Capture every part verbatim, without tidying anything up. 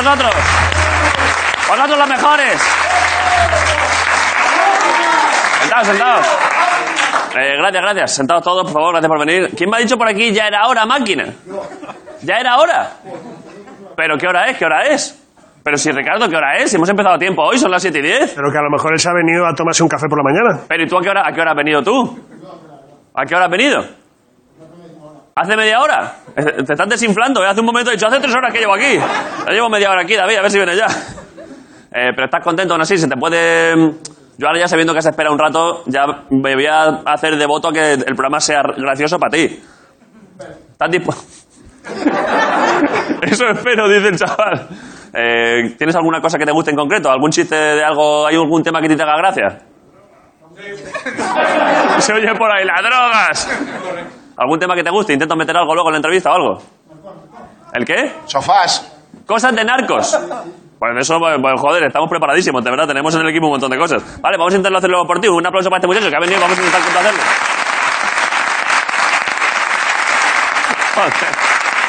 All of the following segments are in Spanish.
vosotros. Vosotros los mejores. Sentados, sentados. Eh, gracias, gracias. Sentados todos, por favor, gracias por venir. ¿Quién me ha dicho por aquí ya era hora, máquina? ¿Ya era hora? ¿Pero qué hora es? ¿Qué hora es? Pero si, Ricardo, ¿qué hora es? Hemos empezado a tiempo hoy, son las siete y diez. Pero que a lo mejor él se ha venido a tomarse un café por la mañana. Pero ¿y tú a qué hora, a qué hora has venido tú? ¿A qué hora has venido? ¿Hace media hora? Te estás desinflando, ¿eh? Hace un momento he dicho, hace tres horas que llevo aquí. Ya llevo media hora aquí, David, a ver si viene ya. Eh, pero estás contento aún así, se te puede... Yo ahora ya sabiendo que se espera un rato, ya me voy a hacer de voto a que el programa sea gracioso para ti. ¿Estás dispuesto? Eso espero, dice el chaval. Eh, ¿Tienes alguna cosa que te guste en concreto? ¿Algún chiste de algo? ¿Hay algún tema que te haga gracia? Se oye por ahí, las drogas. ¿Algún tema que te guste? ¿Intentas meter algo luego en la entrevista o algo? ¿El qué? Sofás. Cosas de narcos. Pues eso, pues, joder, estamos preparadísimos, de verdad. Tenemos en el equipo un montón de cosas. Vale, vamos a intentarlo hacerlo por ti. Un aplauso para este muchacho que ha venido. Vamos a intentar complacerlo. Joder.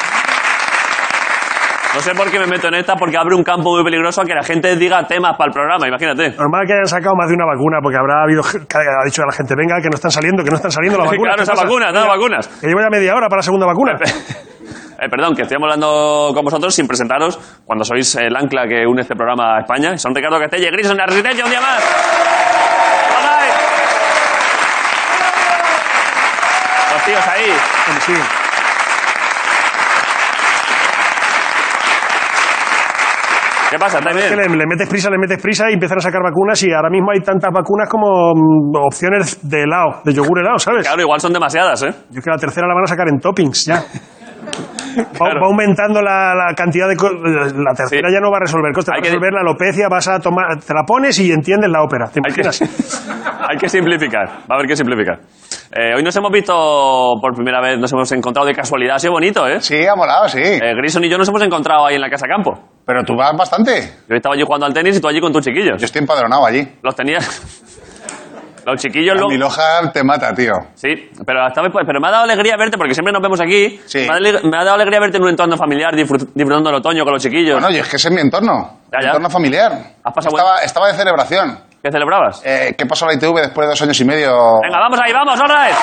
No sé por qué me meto en esta, porque abre un campo muy peligroso a que la gente diga temas para el programa, imagínate. Normal que hayan sacado más de una vacuna, porque habrá habido que ha dicho a la gente, venga, que no están saliendo, que no están saliendo las vacunas. Claro, esas vacunas, no vacunas. Que llevo ya media hora para la segunda vacuna. Eh, perdón, que estoy hablando con vosotros sin presentaros cuando sois el ancla que une este programa a España. Son Ricardo Castella y Grison de la Resistencia, un día más. ¡Hola! Los tíos ahí. Sí. ¿Qué pasa? ¿Está bien? Es que le, le metes prisa, le metes prisa y empiezan a sacar vacunas y ahora mismo hay tantas vacunas como mm, opciones de helado, de yogur helado, ¿sabes? Claro, igual son demasiadas, ¿eh? Yo creo que la tercera la van a sacar en toppings ya. Claro. Va, va aumentando la, la cantidad de... La tercera sí. Ya no va a resolver cosas, va a resolver que... la alopecia, vas a tomar... Te la pones y entiendes la ópera, ¿te imaginas? Hay que, hay que simplificar, va a haber que simplificar. Eh, hoy nos hemos visto por primera vez, nos hemos encontrado de casualidad, ha sido bonito, ¿eh? Sí, ha molado, sí. Eh, Grison y yo nos hemos encontrado ahí en la Casa Campo. Pero tú vas bastante. Yo estaba allí jugando al tenis y tú allí con tus chiquillos. Yo estoy empadronado allí. Los tenías... Los chiquillos... Lo... Lo... Mi Loja te mata, tío. Sí, pero, esta vez, pero me ha dado alegría verte, porque siempre nos vemos aquí. Sí. Me, ha, me ha dado alegría verte en un entorno familiar, disfrutando del otoño con los chiquillos. Bueno, y es que ese es mi entorno. Ya, mi ya. entorno familiar. ¿Has pasado estaba, buen... estaba de celebración. ¿Qué celebrabas? Eh, ¿Qué pasó en la I T V después de dos años y medio? Venga, vamos ahí, vamos, all right.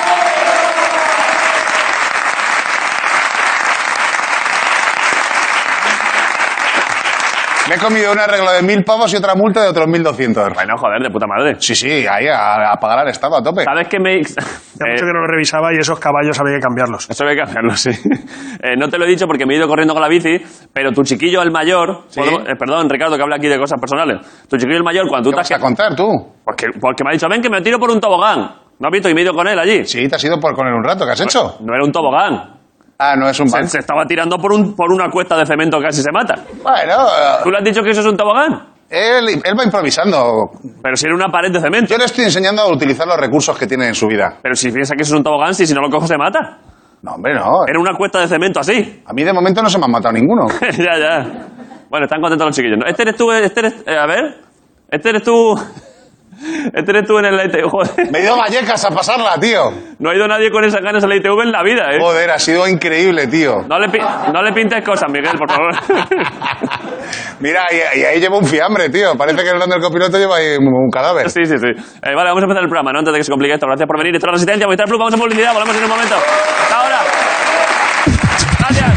Me he comido un arreglo de mil pavos y otra multa de otros mil doscientos. Bueno, joder, de puta madre. Sí, sí, ahí a, a pagar al Estado a tope. ¿Sabes qué me...? Ya eh, mucho que no lo revisaba y esos caballos había que cambiarlos. Eso había que cambiarlos, sí. Eh, no te lo he dicho porque me he ido corriendo con la bici, pero tu chiquillo, el mayor... ¿Sí? ¿puedo, eh, perdón, Ricardo, que habla aquí de cosas personales. Tu chiquillo, el mayor, cuando tú ¿Qué te has... vas a contar, tú? Porque, porque me ha dicho, ven que me tiro por un tobogán. ¿No has visto? Y me he ido con él allí. Sí, te has ido por con él un rato. ¿Qué has hecho? No era un tobogán. Ah, no es un Se, banco. se estaba tirando por, un, por una cuesta de cemento que casi se mata. Bueno... ¿Tú le has dicho que eso es un tobogán? Él, él va improvisando. Pero si era una pared de cemento. Yo le estoy enseñando a utilizar los recursos que tiene en su vida. Pero si piensa que eso es un tobogán, si, si no lo cojo se mata. No, hombre, no. Era una cuesta de cemento así. A mí de momento no se me han matado ninguno. Ya, ya. Bueno, están contentos los chiquillos. Este eres tú, este eres... Eh, a ver... Este eres tú... Este eres tú en el I T V, joder. Me he ido a Vallecas a pasarla, tío. No ha ido nadie con esas ganas al I T V en la vida, ¿eh? Joder, ha sido increíble, tío. No le, no le pintes cosas, Miguel, por favor. Mira, y, y ahí lleva un fiambre, tío. Parece que el del copiloto lleva ahí un, un cadáver. Sí, sí, sí. Eh, vale, vamos a empezar el programa, ¿no? Antes de que se complique esto. Gracias por venir. Esto es La Resistencia, Movistar Plus. Vamos a publicidad, volvemos en un momento. Hasta ahora. Gracias.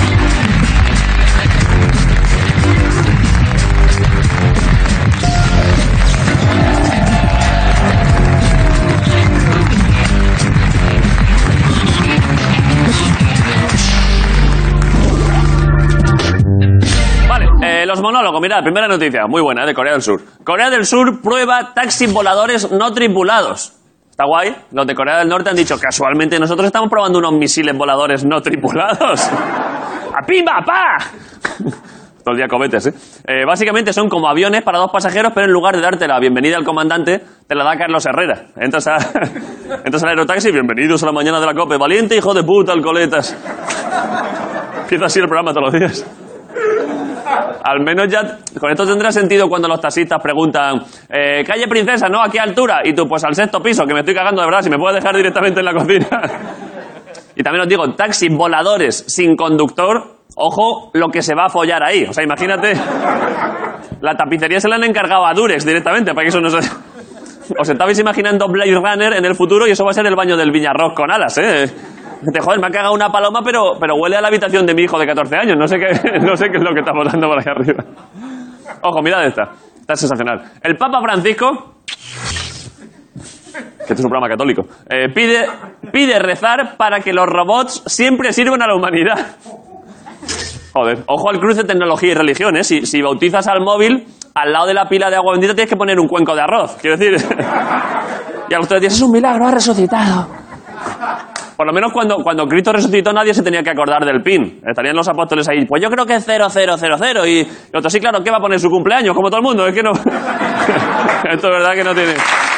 Eh, los monólogos, mirad, primera noticia, muy buena, de Corea del Sur. Corea del Sur prueba taxis voladores no tripulados. Está guay. Los de Corea del Norte han dicho, casualmente nosotros estamos probando unos misiles voladores no tripulados. ¡A pimba, pa! Todo el día cohetes, ¿eh? ¿eh? Básicamente son como aviones para dos pasajeros, pero en lugar de darte la bienvenida al comandante, te la da Carlos Herrera. Entras, a, entras al aerotaxi, bienvenidos a la mañana de la COPE. Valiente hijo de puta, alcoletas. Empieza así el programa todos los días. Al menos ya... Con esto tendrá sentido cuando los taxistas preguntan eh, calle Princesa, ¿no? ¿A qué altura? Y tú, pues al sexto piso, que me estoy cagando de verdad, si me puedes dejar directamente en la cocina. Y también os digo, taxis voladores sin conductor ojo lo que se va a follar ahí. O sea, imagínate, la tapicería se la han encargado a Durex directamente, para que eso no se... Os estabais imaginando Blade Runner en el futuro y eso va a ser el baño del Viñarroz con alas, ¿eh? Te joder, me ha cagado una paloma, pero, pero huele a la habitación de mi hijo de catorce años. No sé qué, no sé qué es lo que está botando por ahí arriba. Ojo, mirad esta. Está sensacional. El Papa Francisco, que este es un programa católico, eh, pide, pide rezar para que los robots siempre sirvan a la humanidad. Joder, ojo al cruce de tecnología y religión, ¿eh? Si, si bautizas al móvil, al lado de la pila de agua bendita tienes que poner un cuenco de arroz. Quiero decir... Y a ustedes dicen, es un milagro, ha resucitado. Por lo menos cuando, cuando Cristo resucitó nadie se tenía que acordar del pin. Estarían los apóstoles ahí, pues yo creo que es cero cero cero cero. Y, y otro, sí, claro, ¿qué va a poner su cumpleaños? Como todo el mundo, es que no... Esto es verdad que no tiene...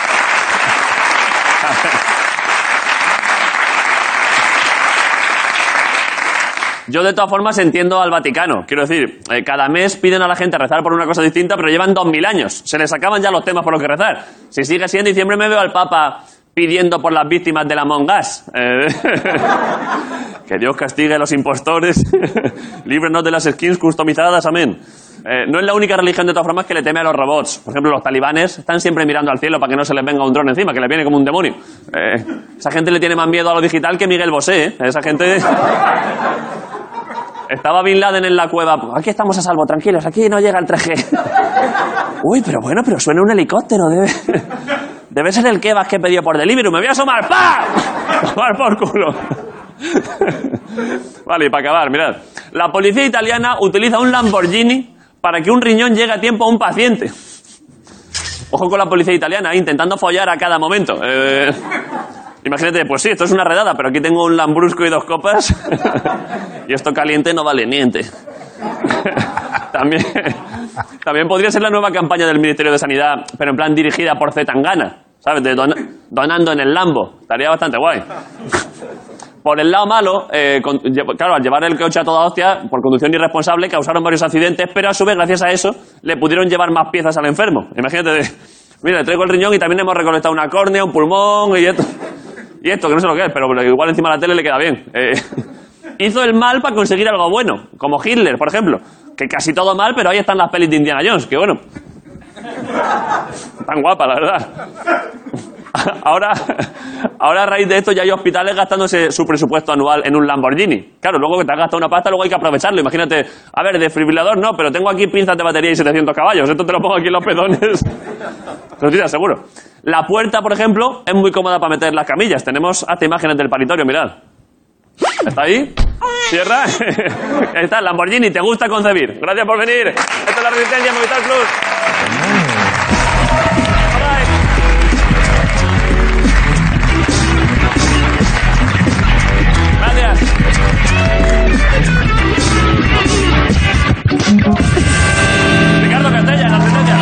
Yo, de todas formas, entiendo al Vaticano. Quiero decir, eh, cada mes piden a la gente rezar por una cosa distinta, pero llevan dos mil años. Se les acaban ya los temas por los que rezar. Si sigue siendo diciembre, me veo al Papa pidiendo por las víctimas de la Among Us. Eh, que Dios castigue a los impostores. Líbrenos de las skins customizadas, amén. Eh, no es la única religión, de todas formas, que le teme a los robots. Por ejemplo, los talibanes están siempre mirando al cielo para que no se les venga un dron encima, que les viene como un demonio. Eh, esa gente le tiene más miedo a lo digital que Miguel Bosé, ¿eh? Esa gente... Estaba Bin Laden en la cueva. Aquí estamos a salvo, tranquilos, aquí no llega el tres G. Uy, pero bueno, pero suena un helicóptero. Debe, debe ser el kebab que he pedido por Deliveroo. Me voy a asomar. ¡Pah! Tomar por culo. Vale, y para acabar, mirad. La policía italiana utiliza un Lamborghini para que un riñón llegue a tiempo a un paciente. Ojo con la policía italiana, intentando follar a cada momento. Eh... Imagínate, pues sí, esto es una redada, pero aquí tengo un lambrusco y dos copas y esto caliente no vale niente. También, también podría ser la nueva campaña del Ministerio de Sanidad, pero en plan dirigida por Zetangana, ¿sabes? De don, donando en el Lambo. Estaría bastante guay. Por el lado malo, eh, con, claro, al llevar el coche a toda hostia, por conducción irresponsable, causaron varios accidentes, pero a su vez, gracias a eso, le pudieron llevar más piezas al enfermo. Imagínate, de, mira, le traigo el riñón y también hemos recolectado una córnea, un pulmón y esto... Y esto, que no sé lo que es, pero igual encima de la tele le queda bien. Eh, hizo el mal para conseguir algo bueno, como Hitler, por ejemplo. Que casi todo mal, pero ahí están las pelis de Indiana Jones, que bueno. Tan guapa, la verdad. Ahora, ahora a raíz de esto ya hay hospitales gastándose su presupuesto anual en un Lamborghini. Claro, luego que te has gastado una pasta, luego hay que aprovecharlo. Imagínate, a ver, desfibrilador no, pero tengo aquí pinzas de batería y setecientos caballos. Esto te lo pongo aquí en los pedones. Lo tienes seguro. La puerta, por ejemplo, es muy cómoda para meter las camillas. Tenemos hasta imágenes del paritorio, mirad. ¿Está ahí? ¿Cierra? Está el Lamborghini, te gusta concebir. Gracias por venir. Esta es La Resistencia, Movistar Plus. Gracias. Ricardo Castella, La Resistencia.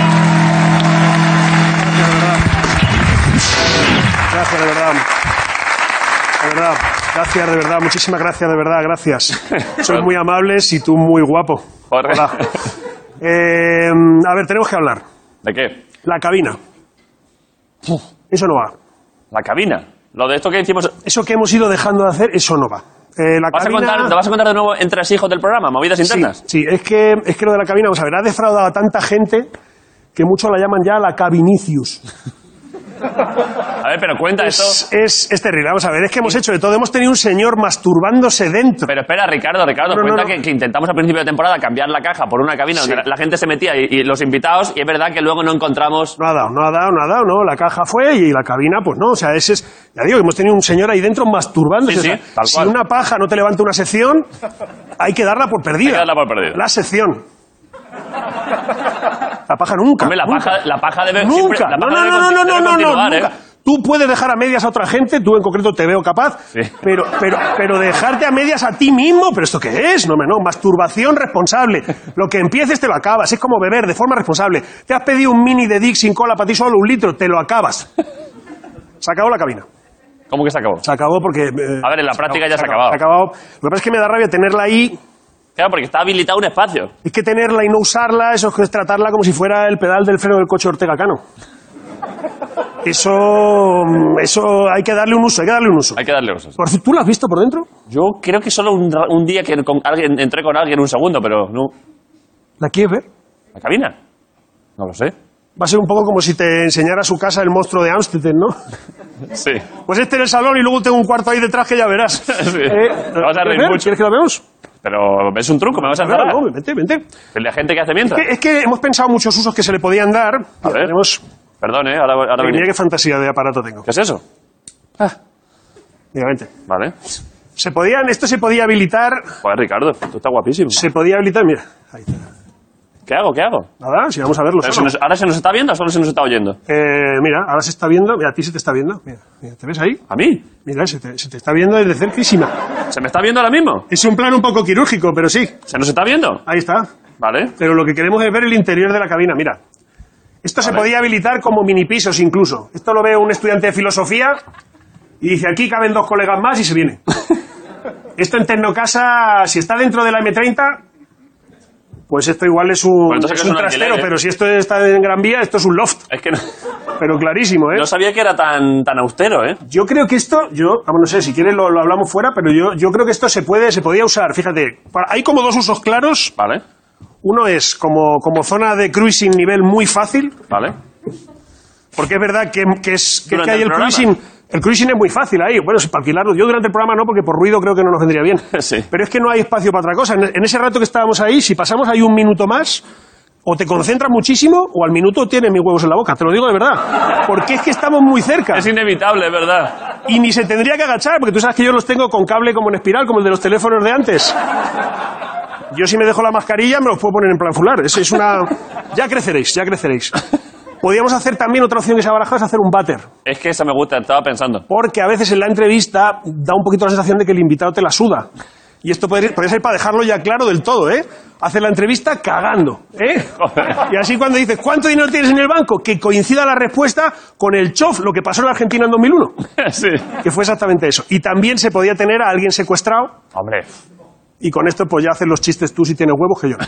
Gracias, de verdad. De verdad. Gracias, de verdad. Muchísimas gracias, de verdad. Gracias. Sois muy amables y tú muy guapo. Hola. Eh, a ver, tenemos que hablar. ¿De qué? La cabina. Eso no va. ¿La cabina? Lo de esto que hicimos... Eso que hemos ido dejando de hacer, eso no va. Eh, la ¿Vas cabina... a contar, ¿Te vas a contar de nuevo entre hijos del programa? ¿Movidas internas? Sí, sí, es que, es que lo de la cabina, vamos a ver, ha defraudado a tanta gente que muchos la llaman ya la Cabinicius. A ver, pero cuenta es, esto. Es, es terrible, vamos a ver, es que hemos hecho de todo. Hemos tenido un señor masturbándose dentro. Pero espera, Ricardo, Ricardo, no, cuenta no, no. Que, que intentamos al principio de temporada cambiar la caja por una cabina sí. donde la, la gente se metía y, y los invitados, y es verdad que luego no encontramos... No ha dado, no ha dado, no ha dado, no. La caja fue y la cabina, pues no. O sea, ese es... Ya digo, hemos tenido un señor ahí dentro masturbándose. Sí, sí, o sea, tal si cual. una paja no te levanta una sección, hay que darla por perdida. Hay que darla por perdida. La sección. La paja nunca. Hombre, la, nunca. Paja, la paja debe... Nunca. Siempre, la paja no, debe, no, no, no, debe no, no, continuar, nunca. ¿eh? Tú puedes dejar a medias a otra gente, tú en concreto te veo capaz, sí. pero, pero, pero dejarte a medias a ti mismo, ¿pero esto qué es? No, no, masturbación responsable. Lo que empieces te lo acabas, es como beber de forma responsable. Te has pedido un mini de Dick sin cola para ti solo, un litro, te lo acabas. Se acabó la cabina. ¿Cómo que se acabó? Se acabó porque... Eh, a ver, en la práctica acabó, ya se ha acabado. Se ha acabado. Lo que pasa es que me da rabia tenerla ahí... Claro, porque está habilitado un espacio. Es que tenerla y no usarla, eso es tratarla como si fuera el pedal del freno del coche Ortega Cano. Eso, eso hay que darle un uso, hay que darle un uso. Hay que darle usos. Por cierto, ¿tú lo has visto por dentro? Yo creo que solo un, ra- un día que con alguien, entré con alguien un segundo, pero no. ¿La quieres ver? ¿La cabina? No lo sé. Va a ser un poco como si te enseñara su casa el monstruo de Ámsterdam, ¿no? Sí. Pues este en el salón y luego tengo un cuarto ahí detrás que ya verás. Sí. Eh, Te vas a reír ¿quieres ver? mucho. ¿Quieres que lo veamos? Pero es un truco, me vas a Claro, encerrar. no, vente, vente. La gente que hace mientras. Es que, es que hemos pensado muchos usos que se le podían dar. A Mira, ver. tenemos... Perdón, ¿eh? Ahora, ahora Mira venía. qué fantasía de aparato tengo. ¿Qué es eso? Mira, vente. Vale. Se podían, esto se podía habilitar... Joder, Ricardo, tú estás guapísimo. Se podía habilitar, mira. Ahí está. ¿Qué hago? ¿Qué hago? Nada, si vamos a verlo Pero solo. se nos- ¿Ahora se nos está viendo o solo se nos está oyendo? Eh, mira, ahora se está viendo. Mira, a ti se te está viendo. Mira, mira, ¿te ves ahí? ¿A mí? Mira, se te, se te está viendo desde cerquísima. ¿Se me está viendo ahora mismo? Es un plan un poco quirúrgico, pero sí. ¿Se nos está viendo? Ahí está. Vale. Pero lo que queremos es ver el interior de la cabina. Mira. Esto se Vale. podía habilitar como mini pisos incluso. Esto lo ve un estudiante de filosofía y dice, aquí caben dos colegas más y se viene. Esto en Tecnocasa, si está dentro de la eme treinta, pues esto igual es un, Pues entonces es es un un trastero, alquiler, ¿eh? pero si esto está en Gran Vía, esto es un loft. Es que no, Pero clarísimo, ¿eh? no sabía que era tan, tan austero, ¿eh? Yo creo que esto, yo, vamos, no sé, si quieres lo, lo hablamos fuera, pero yo, yo creo que esto se puede, se podía usar, fíjate, para- hay como dos usos claros. Vale, Uno es como, como zona de cruising nivel muy fácil, vale. porque es verdad que, que es que, Durante que hay el el programa. cruising, el cruising es muy fácil ahí. Bueno, si para alquilarlo, yo durante el programa no, porque por ruido creo que no nos vendría bien. Sí. Pero es que no hay espacio para otra cosa. En, en ese rato que estábamos ahí, si pasamos ahí un minuto más, o te concentras muchísimo, o al minuto tienes mis huevos en la boca. Te lo digo de verdad. Porque es que estamos muy cerca. Es inevitable, es verdad. Y ni se tendría que agachar, porque tú sabes que yo los tengo con cable como en espiral, como el de los teléfonos de antes. Yo si me dejo la mascarilla me los puedo poner en plan fular. Es, es una... Ya creceréis, ya creceréis. Podríamos hacer también otra opción que se ha barajado, es hacer un váter. Es que esa me gusta, estaba pensando. Porque a veces en la entrevista da un poquito la sensación de que el invitado te la suda. Y esto podría, podría ser para dejarlo ya claro del todo, ¿eh? Hacer la entrevista cagando, ¿eh? Joder. Y así cuando dices, ¿cuánto dinero tienes en el banco? Que coincida la respuesta con el chof, lo que pasó en la Argentina en dos mil uno. Sí. Que fue exactamente eso. Y también se podía tener a alguien secuestrado, Hombre. y con esto pues ya haces los chistes tú si tienes huevos que yo.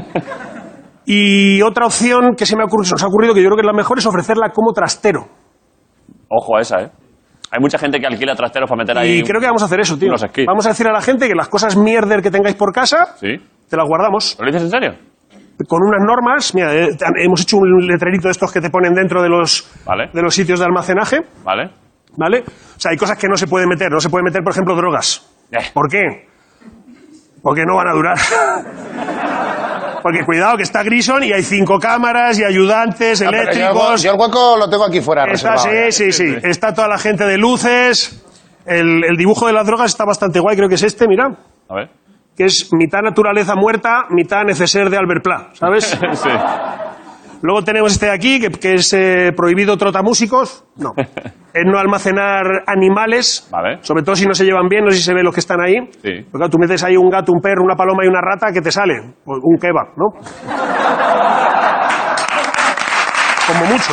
Y otra opción que se me ha ocurrido, se nos ha ocurrido, que yo creo que es la mejor, es ofrecerla como trastero. Ojo a esa, ¿eh? Hay mucha gente que alquila trasteros para meter ahí. Y creo que vamos a hacer eso, tío. unos esquís. Vamos a decir a la gente que las cosas mierder que tengáis por casa, Sí. te las guardamos. ¿Lo dices en serio? Con unas normas. Mira, eh, hemos hecho un letrerito de estos que te ponen dentro de los, Vale. de los sitios de almacenaje, ¿Vale? ¿vale? O sea, hay cosas que no se pueden meter. No se puede meter, por ejemplo, drogas. Eh. ¿Por qué? Porque no van a durar. Porque cuidado, que está Grison y hay cinco cámaras y ayudantes, Ah, pero yo el hue- eléctricos. Yo el hueco lo tengo aquí fuera Está, reservado. sí, ya. sí, sí. Está toda la gente de luces. El, el dibujo de las drogas está bastante guay, creo que es este, mira. A ver. Que es mitad naturaleza muerta, mitad neceser de Albert Pla, ¿sabes? Sí. Luego tenemos este de aquí, que, que es eh, prohibido trotamúsicos. No. Es no almacenar animales. Vale. Sobre todo si no se llevan bien, no sé si se ve los que están ahí. Sí. Porque claro, tú metes ahí un gato, un perro, una paloma y una rata, ¿qué te sale? Pues un kebab, ¿no? Como mucho.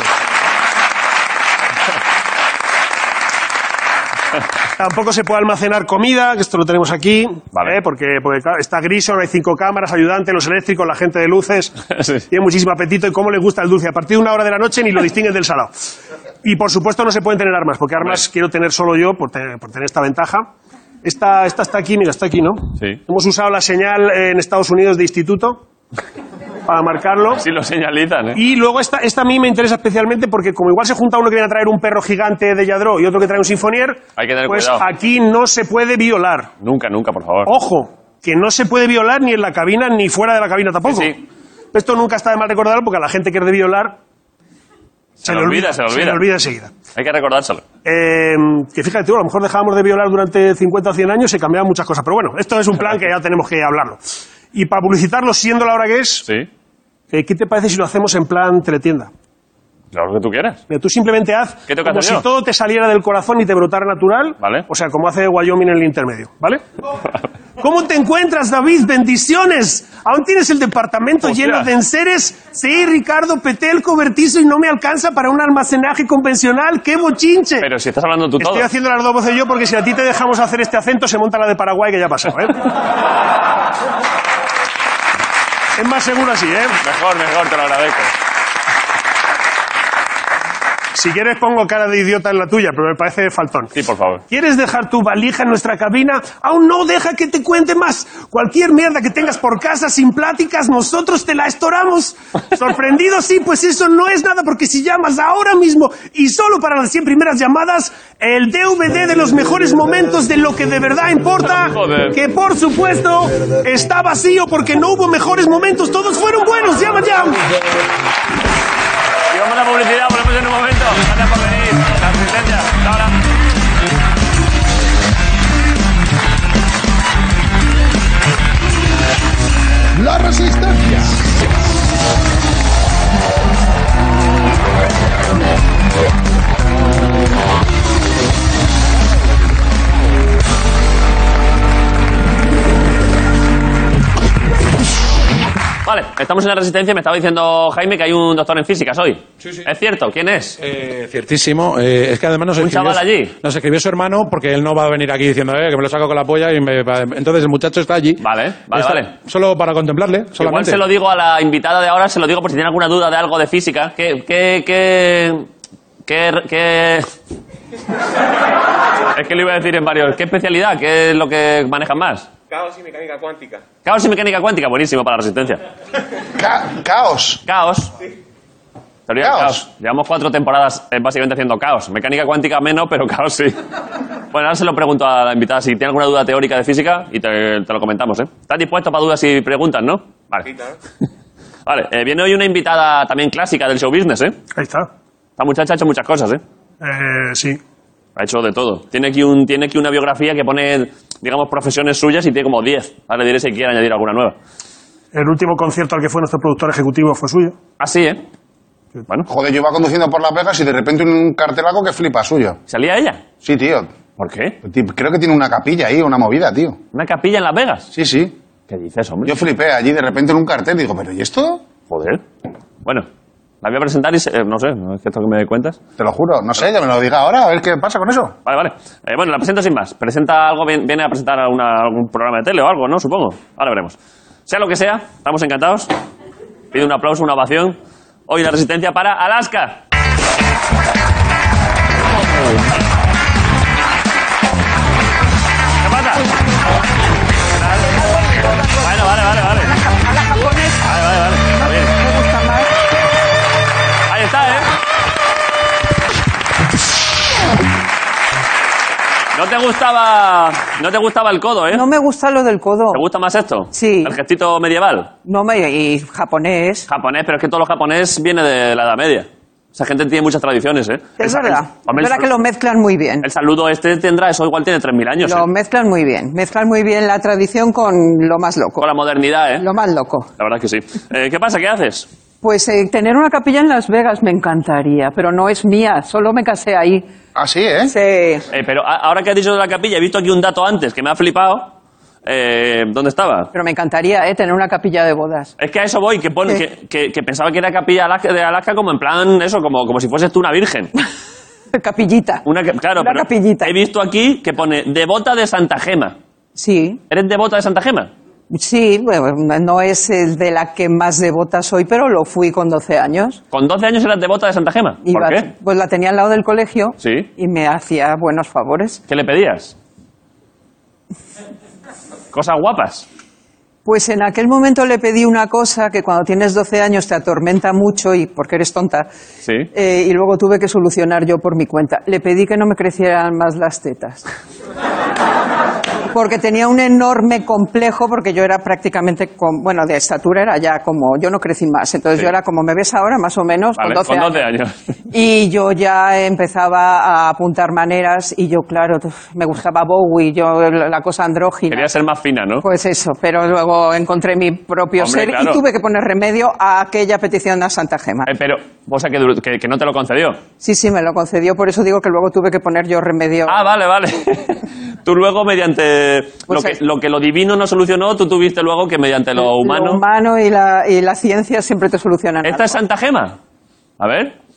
Tampoco se puede almacenar comida, que esto lo tenemos aquí, Vale. ¿eh? porque, porque claro, está Grison, hay cinco cámaras, ayudantes, los eléctricos, la gente de luces, Sí. tiene muchísimo apetito y cómo les gusta el dulce. A partir de una hora de la noche ni lo distinguen del salado. Y por supuesto no se pueden tener armas, porque armas Hombre. quiero tener solo yo por tener, por tener esta ventaja. Esta, esta está aquí, mira, está aquí, ¿no? Sí. Hemos usado la señal en Estados Unidos de instituto para marcarlo. Sí lo señalizan, ¿eh? Y luego esta, esta a mí me interesa especialmente porque como igual se junta uno que viene a traer un perro gigante de Yadro y otro que trae un sinfonier, Hay que tener pues cuidado. aquí no se puede violar. Nunca, nunca, por favor. Ojo, que no se puede violar ni en la cabina ni fuera de la cabina tampoco. Sí, sí. Esto nunca está de mal recordarlo porque a la gente que es de violar Se, le olvida, se le olvida. Se le olvida enseguida. Hay que recordárselo. Eh, que fíjate tú, a lo mejor dejábamos de violar durante cincuenta o cien años y se cambiaban muchas cosas. Pero bueno, esto es un plan que ya tenemos que hablarlo. Y para publicitarlo, siendo la hora que es, Sí. eh, ¿qué te parece si lo hacemos en plan teletienda? Lo que tú quieras. Mira, tú simplemente haz ¿Qué tengo que como hacer si yo? todo te saliera del corazón y te brotara natural. Vale. O sea, como hace Wyoming en el intermedio, ¿vale? ¿Cómo te encuentras, David? Bendiciones. ¿Aún tienes el departamento Hostia. lleno de enseres? Sí, Ricardo, Petel, cobertizo y no me alcanza para un almacenaje convencional. ¡Qué bochinche! Pero si estás hablando tú todo. Estoy haciendo las dos voces yo porque si a ti te dejamos hacer este acento se monta la de Paraguay que ya pasó, ¿eh? Es más seguro así, ¿eh? Mejor, mejor, te lo agradezco. Si quieres pongo cara de idiota en la tuya, pero me parece faltón. Sí, por favor. ¿Quieres dejar tu valija en nuestra cabina? Aún no, deja que te cuente más. Cualquier mierda que tengas por casa sin pláticas, nosotros te la estoramos. ¿Sorprendido? Sí, pues eso no es nada, porque si llamas ahora mismo y solo para las cien primeras llamadas, el D V D de los mejores momentos de lo que de verdad importa, Joder. que por supuesto está vacío porque no hubo mejores momentos, todos fueron buenos. Llama ya. Y vamos a la publicidad, volvemos en un momento. Gracias por venir. La asistencia. Hasta ahora. La Resistencia. Vale, estamos en la Resistencia y me estaba diciendo Jaime que hay un doctor en físicas hoy. Sí, sí. ¿Es cierto? ¿Quién es? Eh, ciertísimo. Eh, es que además nos ¿Un escribió, chaval allí? nos escribió su hermano porque él no va a venir aquí diciendo eh, que me lo saco con la polla y me va- entonces el muchacho está allí. Vale, vale, Está- vale. Solo para contemplarle, Igual solamente. se lo digo a la invitada de ahora, se lo digo por si tiene alguna duda de algo de física. ¿Qué, qué, qué, qué, qué... Es que lo iba a decir en varios. ¿Qué especialidad? ¿Qué es lo que manejan más? Caos y mecánica cuántica. Caos y mecánica cuántica, buenísimo para la Resistencia. Ca- caos. Caos. Teoría del Caos. caos. Llevamos cuatro temporadas eh, básicamente haciendo caos. Mecánica cuántica menos, pero caos sí. Bueno, ahora se lo pregunto a la invitada si tiene alguna duda teórica de física y te, te lo comentamos, ¿eh? ¿Estás dispuesto para dudas y preguntas, no? Vale. Vale, eh, viene hoy una invitada también clásica del show business, ¿eh? Ahí está. Esta muchacha ha hecho muchas cosas, ¿eh? Eh, sí. Ha hecho de todo. Tiene aquí, un, tiene aquí una biografía que pone, digamos, profesiones suyas y tiene como diez. Ahora le diré si quiere añadir alguna nueva. El último concierto al que fue nuestro productor ejecutivo fue suyo. Así, ¿eh? Bueno, Joder, yo iba conduciendo por Las Vegas y de repente un cartelaco que flipa suyo. ¿salía ella? Sí, tío. ¿Por qué? Ti- Creo que tiene una capilla ahí, una movida, tío. ¿Una capilla en Las Vegas? Sí, sí. ¿Qué dices, hombre? Yo flipé allí de repente en un cartel y digo, ¿pero y esto? Joder. Bueno, la voy a presentar y se- eh, no sé, ¿no es que esto que me cuentas? Te lo juro. No sé, ya me lo diga ahora, a ver qué pasa con eso. Vale, vale. Eh, bueno, la presento sin más. Presenta algo, bien- viene a presentar alguna- algún programa de tele o algo, ¿no? Supongo. Ahora veremos. Sea lo que sea, estamos encantados. Pido un aplauso, una ovación. Hoy la Resistencia para Alaska. ¿Qué pasa? Bueno, vale, vale, vale. A la japonesa. Vale, vale, vale. Está bien. Me gusta más. Ahí está, ¿eh? No te gustaba, no te gustaba el codo, ¿eh? No me gusta lo del codo. ¿Te gusta más esto? Sí. El gestito medieval. No me y japonés. Japonés, pero es que todo lo japonés viene de la Edad Media. Esa gente tiene muchas tradiciones, ¿eh? Es El- verdad. el- hombre, Es verdad el- que lo mezclan muy bien. El saludo este tendrá, eso igual tiene tres mil años, Lo ¿eh? mezclan muy bien. Mezclan muy bien la tradición con lo más loco. Con la modernidad, ¿eh? Lo más loco. La verdad es que sí. Eh, ¿Qué pasa? ¿Qué haces? Pues eh, tener una capilla en Las Vegas me encantaría, pero no es mía. Solo me casé ahí. Ah, sí, ¿eh? Sí. Eh, pero a- ahora que has dicho de la capilla, he visto aquí un dato antes que me ha flipado. Eh, ¿Dónde estaba? Pero me encantaría eh, tener una capilla de bodas. Es que a eso voy, que, pone, Sí. que, que- que pensaba que era capilla Alaska- de Alaska como en plan, eso, como, como si fueses tú una virgen. Capillita. Una, que- claro, Una pero capillita. he visto aquí que pone devota de Santa Gema. Sí. ¿Eres devota de Santa Gema? Sí, bueno, no es el de la que más devota soy, pero lo fui con doce años. ¿Con doce años eras devota de Santa Gema? ¿Por Iba- qué? Pues la tenía al lado del colegio Sí. y me hacía buenos favores. ¿Qué le pedías? Cosas guapas. Pues en aquel momento le pedí una cosa que cuando tienes doce años te atormenta mucho y porque eres tonta. Sí. Eh, y luego tuve que solucionar yo por mi cuenta. Le pedí que no me crecieran más las tetas. Porque tenía un enorme complejo, porque yo era prácticamente, con, bueno, de estatura era ya como, yo no crecí más. Entonces Sí. yo era como me ves ahora, más o menos, Vale, con doce con doce años. años. Y yo ya empezaba a apuntar maneras y yo, claro, me gustaba Bowie, yo la cosa andrógina. Quería ser más fina, ¿no? Pues eso, pero luego encontré mi propio Hombre, ser claro. y tuve que poner remedio a aquella petición a Santa Gema. Eh, pero, o sea, que, dur- que, que no te lo concedió. Sí, sí, me lo concedió, por eso digo que luego tuve que poner yo remedio. Ah, vale, vale. Tú luego, mediante Pues lo, que, es- lo que lo divino no solucionó, tú tuviste luego que mediante lo humano... Lo humano y la, y la ciencia siempre te solucionan ¿Esta algo. es Santa Gema? A ver.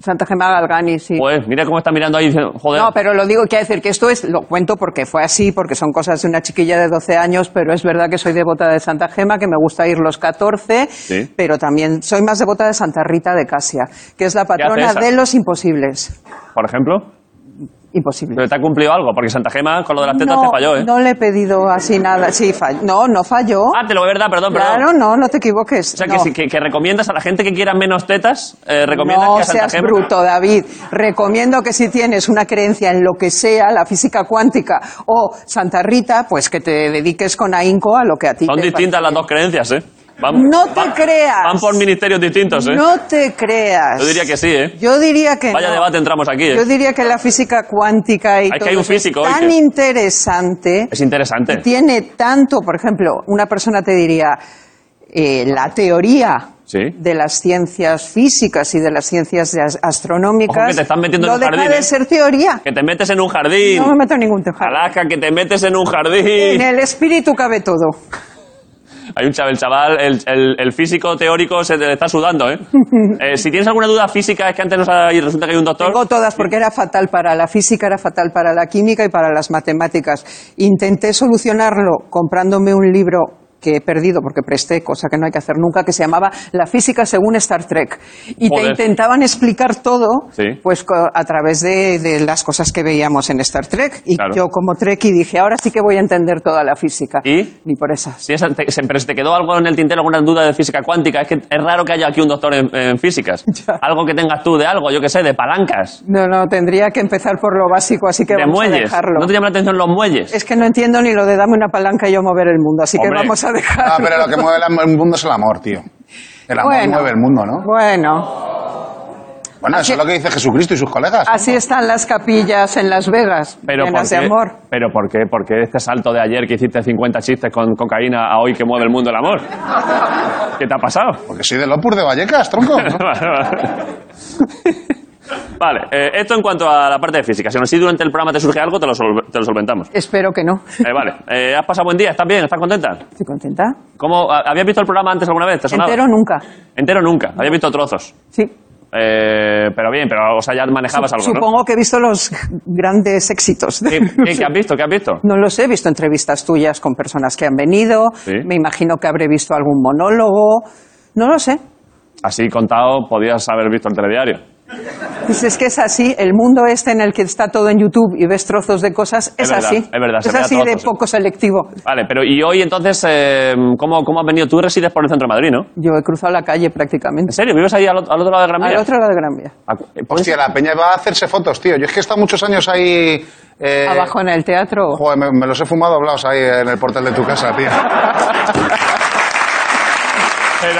Santa Gema Galgani, sí. Pues mira cómo está mirando ahí diciendo, joder. No, pero lo digo, quiero decir que esto es, lo cuento porque fue así, porque son cosas de una chiquilla de doce años, pero es verdad que soy devota de Santa Gema, que me gusta ir los catorce, Sí. pero también soy más devota de Santa Rita de Casia, que es la patrona esa? de los imposibles. Por ejemplo, Imposible. pero te ha cumplido algo, porque Santa Gema con lo de las tetas no, te falló, ¿eh? no le he pedido así nada. Sí, falló. No, no falló. Ah, te lo es verdad, perdón, perdón. Claro, no, no te equivoques. O sea, no. que, si- que, que recomiendas a la gente que quiera menos tetas, eh, recomiendas No que a Santa seas Gema... bruto, David. Recomiendo que si tienes una creencia en lo que sea, la física cuántica o Santa Rita, pues que te dediques con ahínco a lo que a ti Son te distintas parece las bien. dos creencias, ¿eh? Van, No te van- creas. Van por ministerios distintos, ¿eh? No te creas. Yo diría que sí, ¿eh? Yo diría que Vaya no. debate entramos aquí, ¿eh? Yo diría que la física cuántica y Es que todo hay un eso es físico hoy tan que- interesante. Es interesante. Y tiene tanto, por ejemplo, una persona te diría, eh, la teoría Sí. de las ciencias físicas y de las ciencias de as- astronómicas Ojo que te están metiendo en no un deja jardín, de ¿eh? ser teoría. Que te metes en un jardín. No me meto en ningún tejado. Alaska, que te metes en un En jardín. el espíritu cabe todo. Hay un chaval, el chaval, el, el- el físico teórico se te está sudando, ¿eh? Eh, Si tienes alguna duda física, es que antes nos ha, y resulta que hay un doctor. Tengo todas porque era fatal para la física, era fatal para la química y para las matemáticas. Intenté solucionarlo comprándome un libro que he perdido porque presté, cosa que no hay que hacer nunca, que se llamaba La física según Star Trek. Y Joder. te intentaban explicar todo Sí. pues co- a través de, de las cosas que veíamos en Star Trek. Y Claro. yo como Trekkie dije, ahora sí que voy a entender toda la física. ¿Y? Ni por esas. Si esa- te, siempre se te quedó algo en el tintero, alguna duda de física cuántica, es que es raro que haya aquí un doctor en, en físicas. Ya. Algo que tengas tú de algo, yo que sé, de palancas, No, no, tendría que empezar por lo básico, así que de vamos a muelles. dejarlo. ¿No te llama la atención los muelles? Es que no entiendo ni lo de dame una palanca y yo mover el mundo, así Hombre. que vamos a dejarlo. Ah, pero lo que mueve el el mundo es el amor, tío. El amor Bueno. mueve el mundo, ¿no? Bueno, Bueno, eso es lo que dice Jesucristo y sus colegas. así están las capillas en Las Vegas, Pero llenas ¿por de qué? amor. ¿Pero por qué? Porque este salto de ayer que hiciste cincuenta chistes con cocaína a hoy que mueve el mundo el amor. ¿Qué te ha pasado? Porque soy del Opus de Vallecas, tronco. Vale, eh, esto en cuanto a la parte de física. Si aún así durante el programa te surge algo, te lo, sol- te lo solventamos. Espero que no. Eh, vale, eh, ¿has pasado buen día? ¿Estás bien? ¿Estás contenta? Estoy contenta. ¿Cómo, a- ¿Habías visto el programa antes alguna vez? ¿Te sonaba? Entero nunca. Entero nunca. Habías visto trozos. Sí. Eh, pero bien, pero o sea, ya manejabas algo, ¿no? Supongo que he visto los grandes éxitos. ¿Qué, qué- qué has visto? ¿Qué has visto? No lo sé, he visto entrevistas tuyas con personas que han venido. Sí. Me imagino que habré visto algún monólogo. No lo sé. Así contado, podías haber visto el telediario. Pues es que es así, el mundo este en el que está todo en YouTube y ves trozos de cosas, es, Es verdad, así. es verdad, se es ve a así de trozos, sí. poco selectivo. Vale, pero y hoy entonces, eh, ¿cómo, ¿cómo has venido? Tú resides por el centro de Madrid, ¿no? Yo he cruzado la calle ¿En prácticamente. serio? ¿Vives ahí al, ot- al otro lado de Gran Vía? Al otro lado de Gran Vía. Ah, ¿puedes- Hostia, la peña va a hacerse fotos, tío. Yo es que he estado muchos años ahí... eh, Abajo en el teatro. Joder, me, me los he fumado doblados ahí en el portal de tu casa, tío. Pero...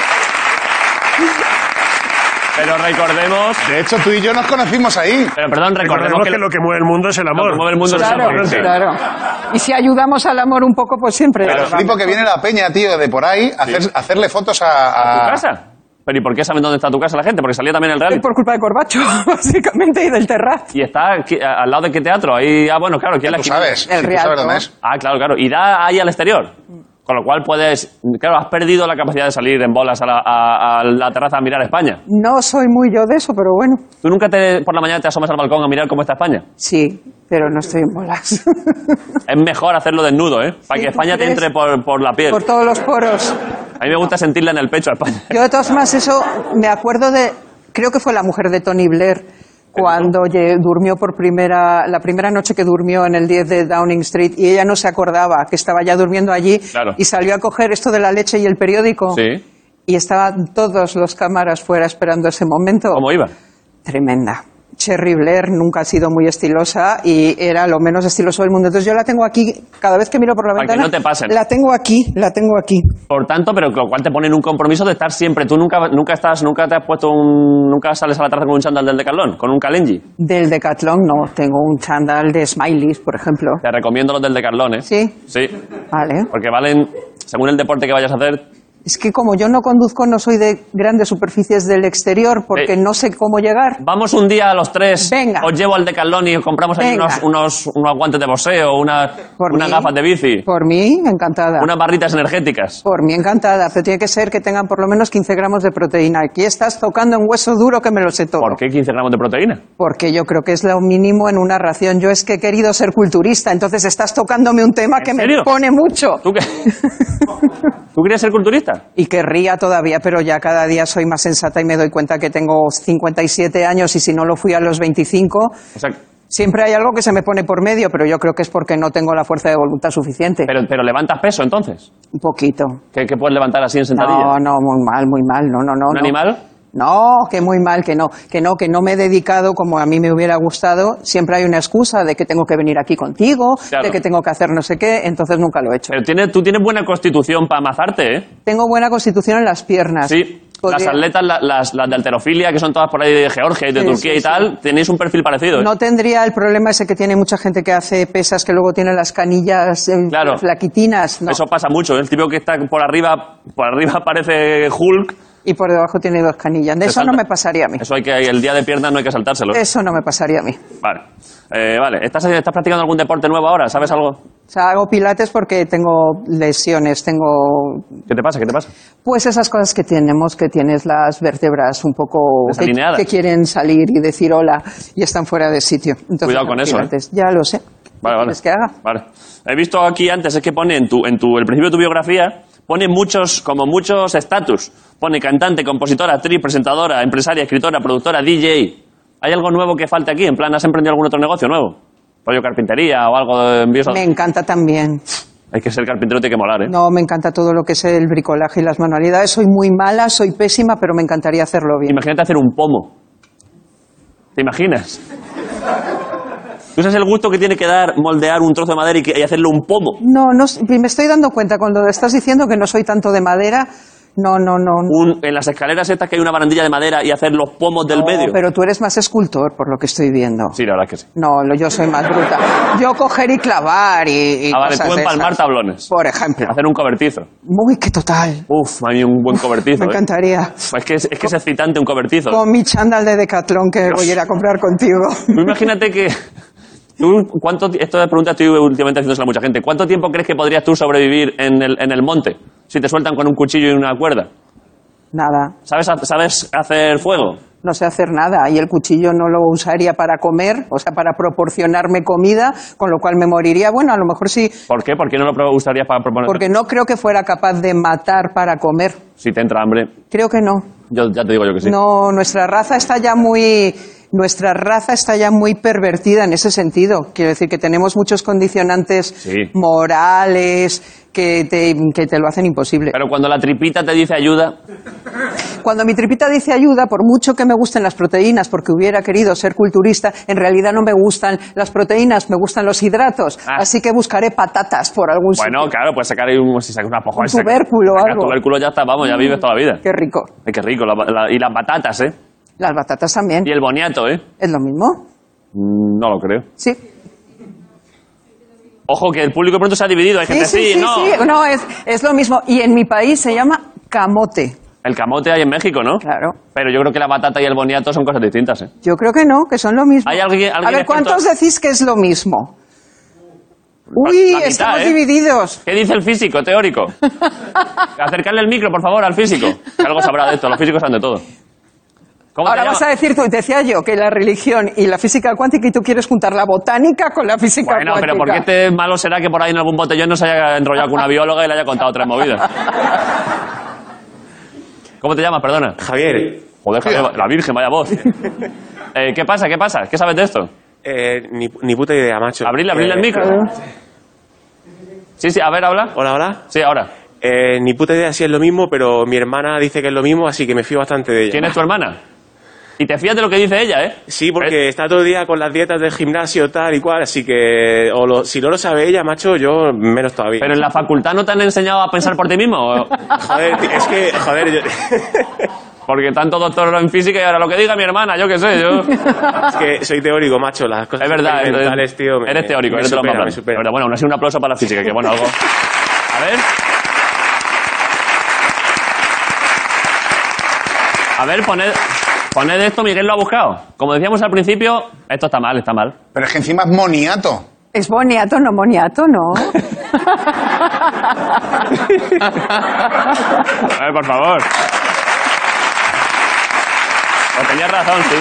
Pero recordemos... De hecho, tú y yo nos conocimos ahí. Pero perdón, recordemos Recordemos que... que lo que mueve el mundo es el amor. Lo que mueve el mundo es el Claro, amor, sí. claro. Y si ayudamos al amor un poco, pues siempre. Pero ayudamos. flipo que viene la peña, tío, de por ahí, a hacer- a hacerle fotos a... ¿Tu a- casa? ¿Pero y por qué saben dónde está tu casa la gente? Porque salía también el reality. Por culpa de Corbacho, básicamente, y del Terrat. Y está aquí, a- al lado de qué teatro. Ahí, ah, bueno, claro, aquí en la Tú esquina. sabes, El sí, tú Rialto. sabes dónde es. Ah, claro, claro. Y da ahí al exterior. Con lo cual puedes... Claro, has perdido la capacidad de salir en bolas a la, a- a la terraza a mirar España. No soy muy yo de eso, pero bueno. ¿Tú nunca te, por la mañana te asomas al balcón a mirar cómo está España? Sí, pero no estoy en bolas. Es mejor hacerlo desnudo, ¿eh? Para Sí, que ¿tú España te crees? entre por, por la piel. Por todos los poros. A mí me gusta sentirla en el pecho a España. Yo de todas formas eso me acuerdo de, creo que fue la mujer de Tony Blair cuando lle- durmió por primera, la primera noche que durmió en el diez de Downing Street y ella no se acordaba que estaba ya durmiendo allí Claro. y salió a coger esto de la leche y el periódico Sí. y estaban todos los cámaras fuera esperando ese momento. ¿Cómo iba? Tremenda. Cherry Blair nunca ha sido muy estilosa y era lo menos estiloso del mundo. Entonces yo la tengo aquí, cada vez que miro por la Para que ventana, no te pasen. la tengo aquí, la tengo aquí. Por tanto, pero con lo cual te ponen un compromiso de estar siempre. Tú nunca, nunca estás, nunca te has puesto un, nunca sales a la terraza con un chándal del Decathlon, con un Kalenji. Del Decathlon no, tengo un chándal de Smileys, por ejemplo. Te recomiendo los del Decathlon, ¿eh? ¿Sí? Sí. Vale. Porque valen, según el deporte que vayas a hacer, Es que como yo no conduzco, no soy de grandes superficies del exterior, porque Eh, no sé cómo llegar. Vamos un día a los tres, Venga. os llevo al Decathlon y os compramos ahí Venga. unos, unos, unos guantes de boxeo, una, Por unas mí. gafas de bici, Por mí, encantada. unas barritas energéticas. Por mí, encantada. Pero tiene que ser que tengan por lo menos quince gramos de proteína. Aquí estás tocando en hueso duro que me lo sé todo. ¿Por qué quince gramos de proteína? Porque yo creo que es lo mínimo en una ración. Yo es que he querido ser culturista, entonces estás tocándome un tema ¿En que serio? me pone mucho. ¿Tú qué? ¿Tú querías ser culturista? Y querría todavía, pero ya cada día soy más sensata y me doy cuenta que tengo cincuenta y siete años y si no lo fui a los veinticinco, O sea, siempre hay algo que se me pone por medio, pero yo creo que es porque no tengo la fuerza de voluntad suficiente. pero, pero levantas peso entonces. Un poquito. ¿Qué, qué puedes levantar así en sentadilla? No, no, muy mal, muy mal. No, no, no. ¿Un no. animal? No, que muy mal, que no, que no, que no me he dedicado como a mí me hubiera gustado. Siempre hay una excusa de que tengo que venir aquí contigo, Claro. de que tengo que hacer no sé qué, entonces nunca lo he hecho. Pero tiene, tú tienes buena constitución para amazarte, ¿eh? Tengo buena constitución en las piernas. Sí. Podría- Las atletas, la- las, las de halterofilia, que son todas por ahí de Georgia y de Sí, Turquía sí, y tal, tenéis un perfil parecido, ¿eh? No tendría el problema ese que tiene mucha gente que hace pesas que luego tiene las canillas eh, Claro. flaquitinas. No. Eso pasa mucho, ¿eh? El tipo que está por arriba, por arriba parece Hulk. Y por debajo tiene dos canillas. De Se eso salta. no me pasaría a mí. Eso hay que, el día de piernas no hay que saltárselo. Eso no me pasaría a mí. Vale. Eh, vale. ¿Estás, ¿Estás practicando algún deporte nuevo ahora? ¿Sabes algo? O sea, hago pilates porque tengo lesiones, tengo ¿Qué te pasa? ¿Qué te pasa? pues esas cosas que tenemos, que tienes las vértebras un poco que, Desalineadas. que quieren salir y decir hola y están fuera de sitio. Entonces, Cuidado con hago eso, pilates. Ya lo sé. Vale, vale. ¿Quieres que haga? Vale. He visto aquí antes, es que pone en tu, en tu, el principio de tu biografía, pone muchos, como muchos estatus. Pone cantante, compositora, actriz, presentadora, empresaria, escritora, productora, D J. ¿Hay algo nuevo que falte aquí? En plan, ¿has emprendido algún otro negocio nuevo? ¿Rollo carpintería o algo de envíos? a- Me encanta también. Hay que ser carpintero, tiene que molar, ¿eh? No, me encanta todo lo que es el bricolaje y las manualidades. Soy muy mala, soy pésima, pero me encantaría hacerlo bien. Imagínate hacer un pomo. ¿Te imaginas? ¿Tú sabes el gusto que tiene que dar moldear un trozo de madera y, que- y hacerle un pomo? No, no, s- me estoy dando cuenta cuando estás diciendo que no soy tanto de madera. No, no, no. no. Un- en las escaleras estas que hay una barandilla de madera y hacer los pomos del No, medio. pero tú eres más escultor, por lo que estoy viendo. Sí, la verdad es que sí. No, lo- yo soy más bruta. Yo coger y clavar y, y Ah, vale, cosas tú de empalmar esas. tablones. Por ejemplo. Hacer un cobertizo. Muy que total. Uf, a mí un buen cobertizo. Me ¿eh? encantaría. Es que es, es que es excitante un cobertizo. Con mi chándal de Decathlon que voy a ir a comprar contigo. Tú imagínate que... Tú, ¿cuánto, ti- esto de pregunta estoy últimamente haciéndosela a mucha gente. ¿Cuánto tiempo crees que podrías tú sobrevivir en el, en el monte? Si te sueltan con un cuchillo y una cuerda. Nada. ¿Sabes, ha- ¿Sabes hacer fuego? No sé hacer nada. Y el cuchillo no lo usaría para comer, o sea, para proporcionarme comida, con lo cual me moriría. Bueno, a lo mejor sí, ¿Por qué? ¿Por qué no lo pro- usarías para proponer? porque no creo que fuera capaz de matar para comer. Si te entra hambre. Creo que no. Yo ya te digo yo que sí. No, nuestra raza está ya muy, nuestra raza está ya muy pervertida en ese sentido. Quiero decir que tenemos muchos condicionantes Sí. morales que te, que te lo hacen imposible. Pero cuando la tripita te dice ayuda... Cuando mi tripita dice ayuda, por mucho que me gusten las proteínas, porque hubiera querido ser culturista, en realidad no me gustan las proteínas, me gustan los hidratos. Ah. Así que buscaré patatas por algún Bueno, sitio. claro, puedes sacar ahí un, si sacas una poja, Un sacas- tubérculo o sacas algo. tubérculo ya está, vamos, ya vives toda la vida. Qué rico. Ay, qué rico. la- la- y las batatas, ¿eh? Las batatas también. Y el boniato, ¿eh? ¿Es lo mismo? Mm, No lo creo. Sí. Ojo, que el público pronto se ha dividido. Hay Sí, gente, sí, sí, sí, no. sí. No, es, es lo mismo. Y en mi país se llama camote. El camote hay en México, ¿no? Claro. Pero yo creo que la batata y el boniato son cosas distintas, ¿eh? Yo creo que no, que son lo mismo. ¿Hay alguien- A alguien ver, experto? ¿cuántos decís que es lo mismo? Uy, La mitad, estamos ¿eh? divididos. ¿Qué dice el físico teórico? Acercarle el micro, por favor, al físico. Que algo sabrá de esto. Los físicos saben de todo. ¿Cómo Ahora te vas a llamas? decir tú, decía yo, que la religión y la física cuántica y tú quieres juntar la botánica con la física Bueno, cuántica. pero ¿por qué este malo será que por ahí en algún botellón no se haya enrollado con una bióloga y le haya contado tres movidas? ¿Cómo te llamas, perdona? Javier, Joder, Javier, la Virgen, vaya voz. Eh, ¿Qué pasa? ¿Qué pasa? ¿Qué sabes de esto? eh, ni, ni puta idea, macho. Abrirle, abrirle el Eh, micro. Sí, sí, a ver, habla. Hola, hola. Sí, ahora. Eh, ni puta idea si es lo mismo, pero mi hermana dice que es lo mismo, así que me fío bastante de ella. ¿Quién es tu hermana? Y te fías de lo que dice ella, ¿eh? Sí, porque está todo el día con las dietas del gimnasio tal y cual, así que o lo- si no lo sabe ella, macho, yo menos todavía. ¿Pero en la facultad no te han enseñado a pensar por ti mismo? ¿O- Joder, tío, es que, joder, yo... Porque tanto doctor en física y ahora lo que diga mi hermana, yo qué sé, yo... es que soy teórico, macho, las cosas Es verdad, experimentales, entonces, tío, me- eres teórico, me eres de los supera, más me blancos. supera. Pero bueno, aún así un aplauso para la física, que bueno, algo... A ver... A ver, poned, poned esto, Miguel lo ha buscado. Como decíamos al principio, esto está mal, está mal. Pero es que encima es moniato. Es boniato, no moniato, ¿no? A ver, por favor. Pues tenías razón, sí.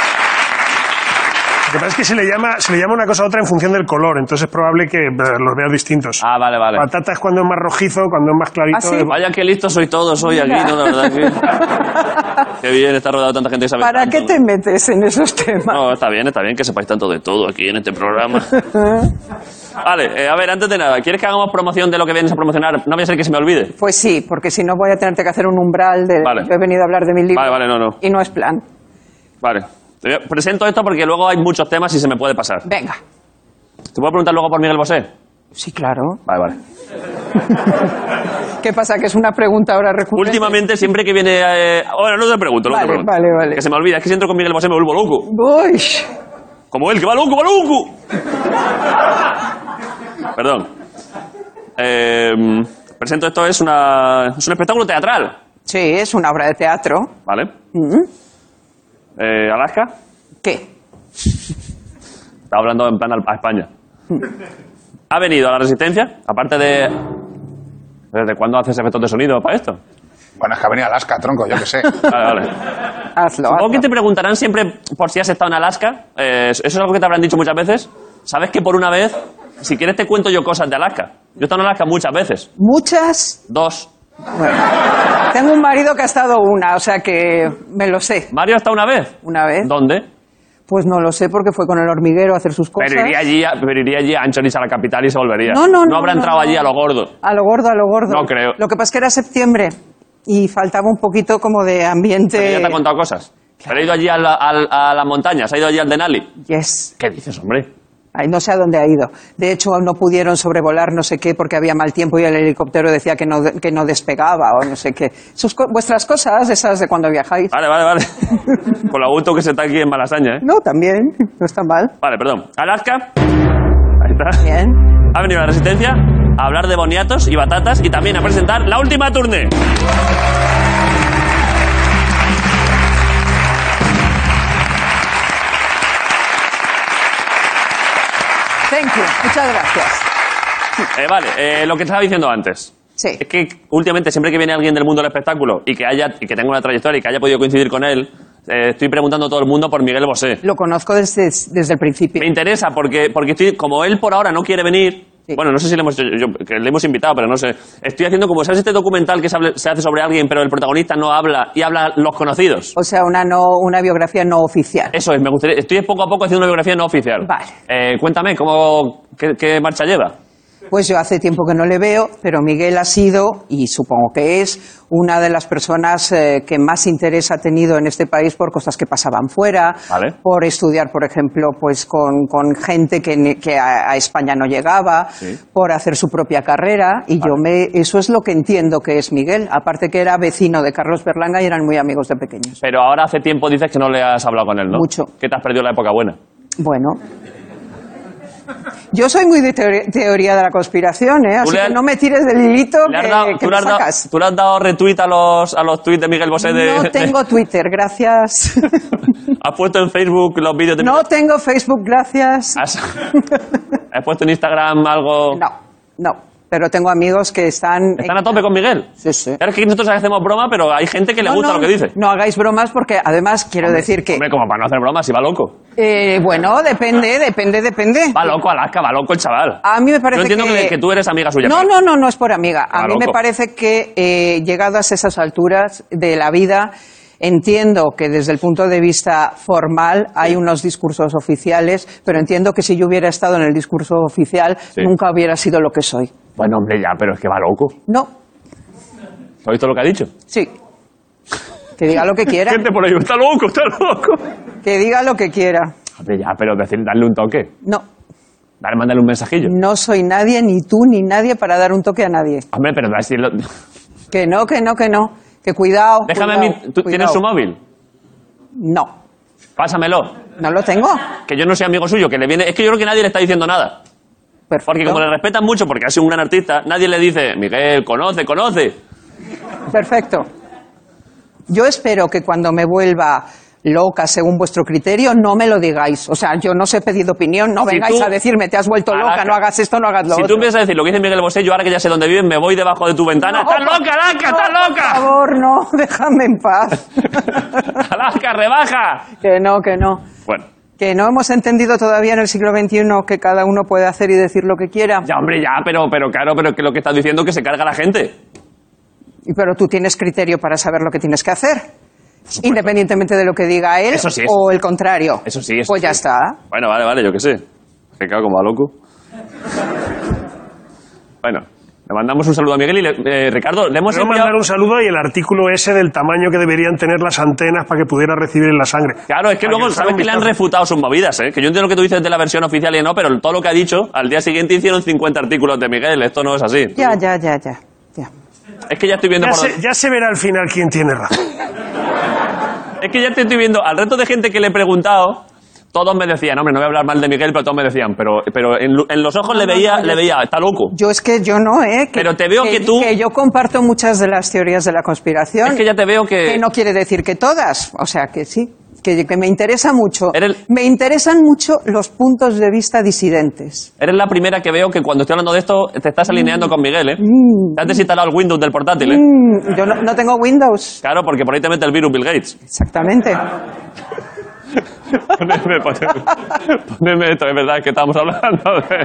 Lo que pasa es que se le llama, se le llama una cosa a otra en función del color, entonces es probable que eh, los veas distintos. Ah, vale, vale. Patata es cuando es más rojizo, cuando es más clarito. ¿Ah, sí? es- Vaya que listos sois todos hoy aquí, ¿no? La verdad que... Qué bien, está rodeado de tanta gente que sabe ¿Para tanto, qué ¿no? te metes en esos temas? No, está bien, está bien que sepáis tanto de todo aquí en este programa. Vale, eh, a ver, antes de nada, ¿quieres que hagamos promoción de lo que vienes a promocionar? No voy a ser que se me olvide. Pues sí, porque si no voy a tenerte que hacer un umbral de... Vale. Yo he venido a hablar de mi libro. Vale, vale, no, no. Y no es plan. Vale. Te voy a- Presento esto porque luego hay muchos temas y se me puede pasar. Venga. ¿Te puedo preguntar luego por Miguel Bosé? Sí, claro. Vale, vale. ¿Qué pasa? ¿Que es una pregunta ahora recurrente? Últimamente, siempre que viene... Eh... Bueno, no te pregunto, no Vale, te pregunto. vale, vale. Que se me olvida, es que si entro con Miguel Bosé me vuelvo loco. Uy. Como él, que va loco, va loco. Perdón. Eh, presento esto, es, una, es un espectáculo teatral, Sí, es una obra de teatro. ¿vale? Mm. Eh, Alaska, ¿Qué? estaba hablando en plan al- a España. Ha venido a la Resistencia, aparte de... ¿Desde cuándo haces efectos de sonido para esto? Bueno, es que ha venido Alaska, tronco, yo qué sé. Vale, vale. Hazlo, Supongo hazlo. que te preguntarán siempre por si has estado en Alaska. Eh, eso es algo que te habrán dicho muchas veces. ¿Sabes que por una vez, si quieres te cuento yo cosas de Alaska? Yo he estado en Alaska muchas veces. Muchas. Dos. Bueno, tengo un marido que ha estado una, o sea que me lo sé. ¿Mario ha estado una vez? Una vez. ¿Dónde? Pues no lo sé porque fue con el hormiguero a hacer sus cosas. Pero iría allí, a, pero iría allí a Anchonis, a la capital, y se volvería. No, no, no, habrá no, entrado no. allí a lo gordo. A lo gordo, a lo gordo. No creo. Lo que pasa es que era septiembre y faltaba un poquito como de ambiente. Pero ya te ha contado cosas. Pero he ido allí a la, al- a la montaña, se ha ido allí al Denali. Yes. ¿Qué dices, hombre? Ay, no sé a dónde ha ido. De hecho, no pudieron sobrevolar no sé qué porque había mal tiempo y el helicóptero decía que no, que no despegaba o no sé qué. Sus co- vuestras cosas, esas de cuando viajáis. Vale, vale, vale. Con lo gusto que se está aquí en Malasaña, ¿eh? No, también. No está mal. Vale, perdón. Alaska. Ahí está. Bien. Ha venido a la Resistencia a hablar de boniatos y batatas y también a presentar la última tournée. Thank you. Muchas gracias. Eh, vale, eh, lo que estaba diciendo antes. Sí. Es que últimamente, siempre que viene alguien del mundo del espectáculo y que haya y que tenga una trayectoria y que haya podido coincidir con él, eh, estoy preguntando a todo el mundo por Miguel Bosé. Lo conozco desde, desde el principio. Me interesa porque, porque estoy, como él por ahora no quiere venir, Sí. bueno, no sé si le hemos, yo- que le hemos invitado, pero no sé. Estoy haciendo como, ¿sabes este documental que se, hable- se hace sobre alguien, pero el protagonista no habla y habla los conocidos? O sea, una, no, una biografía no oficial. Eso es, me gustaría, estoy poco a poco haciendo una biografía no oficial. Vale. Eh, cuéntame, ¿cómo, qué, qué marcha lleva? Pues yo hace tiempo que no le veo, pero Miguel ha sido, y supongo que es, una de las personas eh, que más interés ha tenido en este país por cosas que pasaban fuera, Vale. por estudiar, por ejemplo, pues con, con gente que, ni- que a, a España no llegaba, Sí. por hacer su propia carrera, y yo me, eso es lo que entiendo que es Miguel, aparte que era vecino de Carlos Berlanga y eran muy amigos de pequeños. Pero ahora hace tiempo dices que no le has hablado con él, ¿no? Mucho. Que te has perdido la época buena. Bueno. Yo soy muy de teori- teoría de la conspiración, ¿eh? Así le has- que no me tires del hilito ¿Le has que, dado- que tú, me le has dado, sacas. tú le has dado retweet a los, a los tweets de Miguel Bosé de... No tengo Twitter, gracias. ¿Has puesto en Facebook los vídeos de No Miguel? tengo Facebook, gracias. ¿Has, ¿Has puesto en Instagram algo...? No, no. Pero tengo amigos que están... ¿Están a tope con Miguel? Sí, sí. Claro, es que nosotros hacemos broma, pero hay gente que le No, gusta no, lo que dice. No hagáis bromas porque además quiero decir que... Hombre, como para no hacer bromas, si va loco. eh, bueno, depende, depende, depende. Va loco Alaska, va loco el chaval. A mí me parece Yo entiendo que... que... que tú eres amiga suya. No, pero- no, no, no es por amiga. A Ah, mí me loco. parece que eh, llegadas a esas alturas de la vida, entiendo que desde el punto de vista formal hay unos discursos oficiales, pero entiendo que si yo hubiera estado en el discurso oficial, Sí. nunca hubiera sido lo que soy. Bueno, hombre, ya, pero es que va loco. No, ¿Has visto lo que ha dicho? sí. Que diga lo que quiera. Gente por ahí, está loco, está loco. Que diga lo que quiera. Hombre, ya, pero decir, darle un toque. No, Dale, mándale un mensajillo. no soy nadie, ni tú, ni nadie para dar un toque a nadie. Hombre, pero decirlo... Que no, que no, que no. Que cuidado. Déjame a cuidado, mí... ¿Tú tienes cuidado. su móvil? No, Pásamelo. no lo tengo. Que yo no soy amigo suyo, que le viene... Es que yo creo que nadie le está diciendo nada. Perfecto. Porque como le respetan mucho, porque ha sido un gran artista, nadie le dice, Miguel, conoce, conoce. Perfecto. Yo espero que cuando me vuelva loca, según vuestro criterio, no me lo digáis. O sea, yo no os he pedido opinión, no Si vengáis tú- a decirme, te has vuelto Alaska. loca, no hagas esto, no hagas lo Si otro. tú empiezas a decir lo que dice Miguel Bosé, yo ahora que ya sé dónde vives, me voy debajo de tu ventana. No, ¡Estás loca, Alaska! ¡Estás Por loca! favor, no, déjame en paz. ¡Alaska, rebaja! Que no, que no. Bueno, Que no hemos entendido todavía en el siglo veintiuno que cada uno puede hacer y decir lo que quiera. ya, hombre, ya, pero, pero claro, pero que lo que estás diciendo es que se carga la gente. Y Pero tú tienes criterio para saber lo que tienes que hacer. Independientemente de lo que diga él Eso sí, eso o el contrario. Eso sí, eso Pues ya sí. está. Bueno, vale, vale, yo qué sé. Que claro, como a loco. Bueno, le mandamos un saludo a Miguel y le- eh, Ricardo, le hemos Quiero enviado... mandar un saludo y el artículo ese del tamaño que deberían tener las antenas para que pudiera recibir en la sangre. Claro, es que Para luego, echara ¿sabes un que le han vistazo. refutado sus movidas, eh? Que yo entiendo lo que tú dices de la versión oficial y no, pero todo lo que ha dicho, al día siguiente hicieron cincuenta artículos de Miguel, esto no es así. Ya, ya, ya, ya. ya. Es que ya estoy viendo Ya por se, dónde- ya se verá al final quién tiene razón. Es que ya te estoy viendo, al resto de gente que le he preguntado, todos me decían, hombre, no voy a hablar mal de Miguel, pero todos me decían, pero, pero en, lu- en los ojos le no, veía, no, yo- le veía, está loco. Yo es que yo no, ¿eh? Que- Pero te veo que tú- Que yo comparto muchas de las teorías de la conspiración. Es que ya te veo que... Que no quiere decir que todas. O sea, que sí. Que, que me interesa mucho. Eres- Me interesan mucho los puntos de vista disidentes. Eres la primera que veo que cuando estoy hablando de esto te estás alineando con Miguel, ¿eh? Te has desinstalado el Windows del portátil, ¿eh? Mm, yo no, no tengo Windows. Claro, porque por ahí te mete el virus Bill Gates. Exactamente. Poneme, poneme, poneme esto, es verdad, es que estamos hablando de...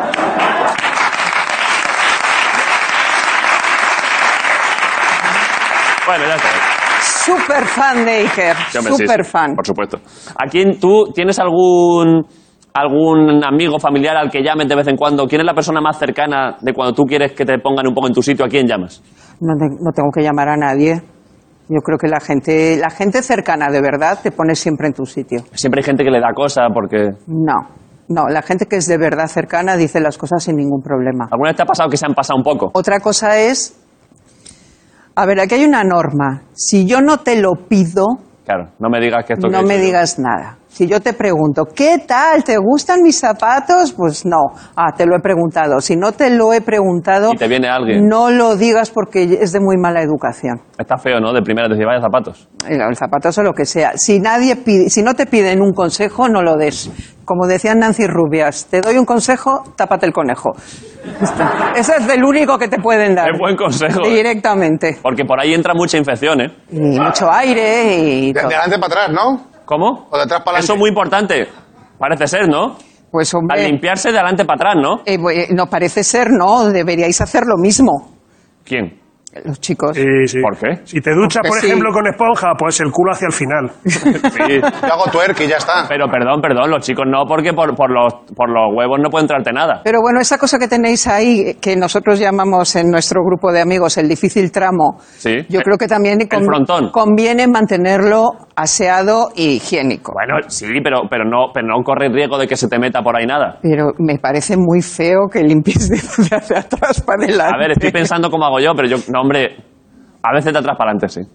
Bueno, ya está. Super fan de Iker. Sí, hombre, sí, Super sí, fan. por supuesto. ¿A quién tú tienes algún algún amigo familiar al que llames de vez en cuando? ¿Quién es la persona más cercana de cuando tú quieres que te pongan un poco en tu sitio? ¿A quién llamas? No, te- no tengo que llamar a nadie. Yo creo que la gente, la gente cercana de verdad te pone siempre en tu sitio. Siempre hay gente que le da cosa porque... No, no, la gente que es de verdad cercana dice las cosas sin ningún problema. ¿Alguna vez te ha pasado que se han pasado un poco? Otra cosa es, a ver, aquí hay una norma. Si yo no te lo pido, Claro, no me digas que esto... no que he me dicho yo. digas nada. Si yo te pregunto, ¿qué tal? ¿Te gustan mis zapatos? Pues no. Ah, te lo he preguntado. Si no te lo he preguntado, Y te viene alguien. no lo digas porque es de muy mala educación. Está feo, ¿no? De primera decir, vaya zapatos. El, el zapatos o lo que sea. Si nadie pide, si no te piden un consejo, no lo des. Como decía Nancy Rubias, te doy un consejo, tápate el conejo. Ese es el único que te pueden dar. Es buen consejo. ¿eh? Directamente. Porque por ahí entra mucha infección, ¿eh? Y mucho aire y De, todo. de adelante para atrás, ¿no? ¿Cómo? O de atrás para Eso es adelante. muy importante. Parece ser, ¿no? Pues Al hombre, limpiarse de adelante para atrás, ¿no? eh, bu- no parece ser, no, deberíais hacer lo mismo, ¿Quién? los chicos. Sí, sí. ¿Por qué? Si te duchas, Porque por sí. ejemplo, con esponja, pues el culo hacia el final. Sí. Yo hago twerk y ya está. Pero perdón, perdón, los chicos no, porque por, por, los, por los huevos no puede entrarte nada. Pero bueno, esa cosa que tenéis ahí, que nosotros llamamos en nuestro grupo de amigos el difícil tramo, Sí. yo creo que también El frontón. conviene mantenerlo aseado y higiénico. Bueno, sí, pero, pero, no, pero no corre riesgo de que se te meta por ahí nada. Pero me parece muy feo que limpies de, de hacia atrás para adelante. A ver, estoy pensando cómo hago yo, pero yo, no, hombre, a veces de atrás para adelante, sí.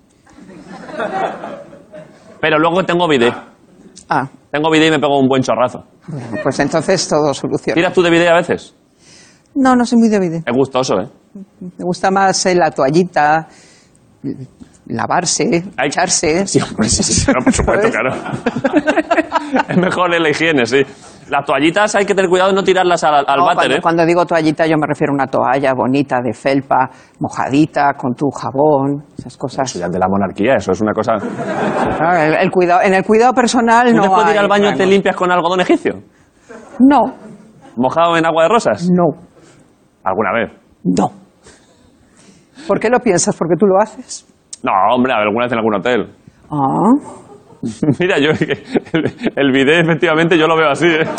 Pero luego tengo bidet. Ah, Tengo bidet y me pego un buen chorrazo. bueno, pues entonces todo soluciona. ¿Tiras tú de bidet a veces? No, no soy muy de vídeo. Es gustoso, ¿eh? Me gusta más eh, la toallita, lavarse, Hay- echarse. Sí, hombre, sí, sí, claro, por supuesto, ¿Sabes? claro. Es mejor en la higiene, sí. Las toallitas hay que tener cuidado de no tirarlas al, al No, váter, cuando, ¿eh? cuando digo toallita yo me refiero a una toalla bonita, de felpa, mojadita, con tu jabón, esas cosas. Ya de la monarquía, eso es una cosa... ¿Tú Claro, el, el cuidado, en el cuidado personal no después de ir hay al baño te rangos. limpias con algodón egipcio? No, ¿Mojado en agua de rosas? no, ¿Alguna vez? no. ¿Por qué lo piensas? ¿Porque tú lo haces? No, hombre, alguna vez en algún hotel. Ah, Mira, yo el, el bidet efectivamente yo lo veo así, ¿eh?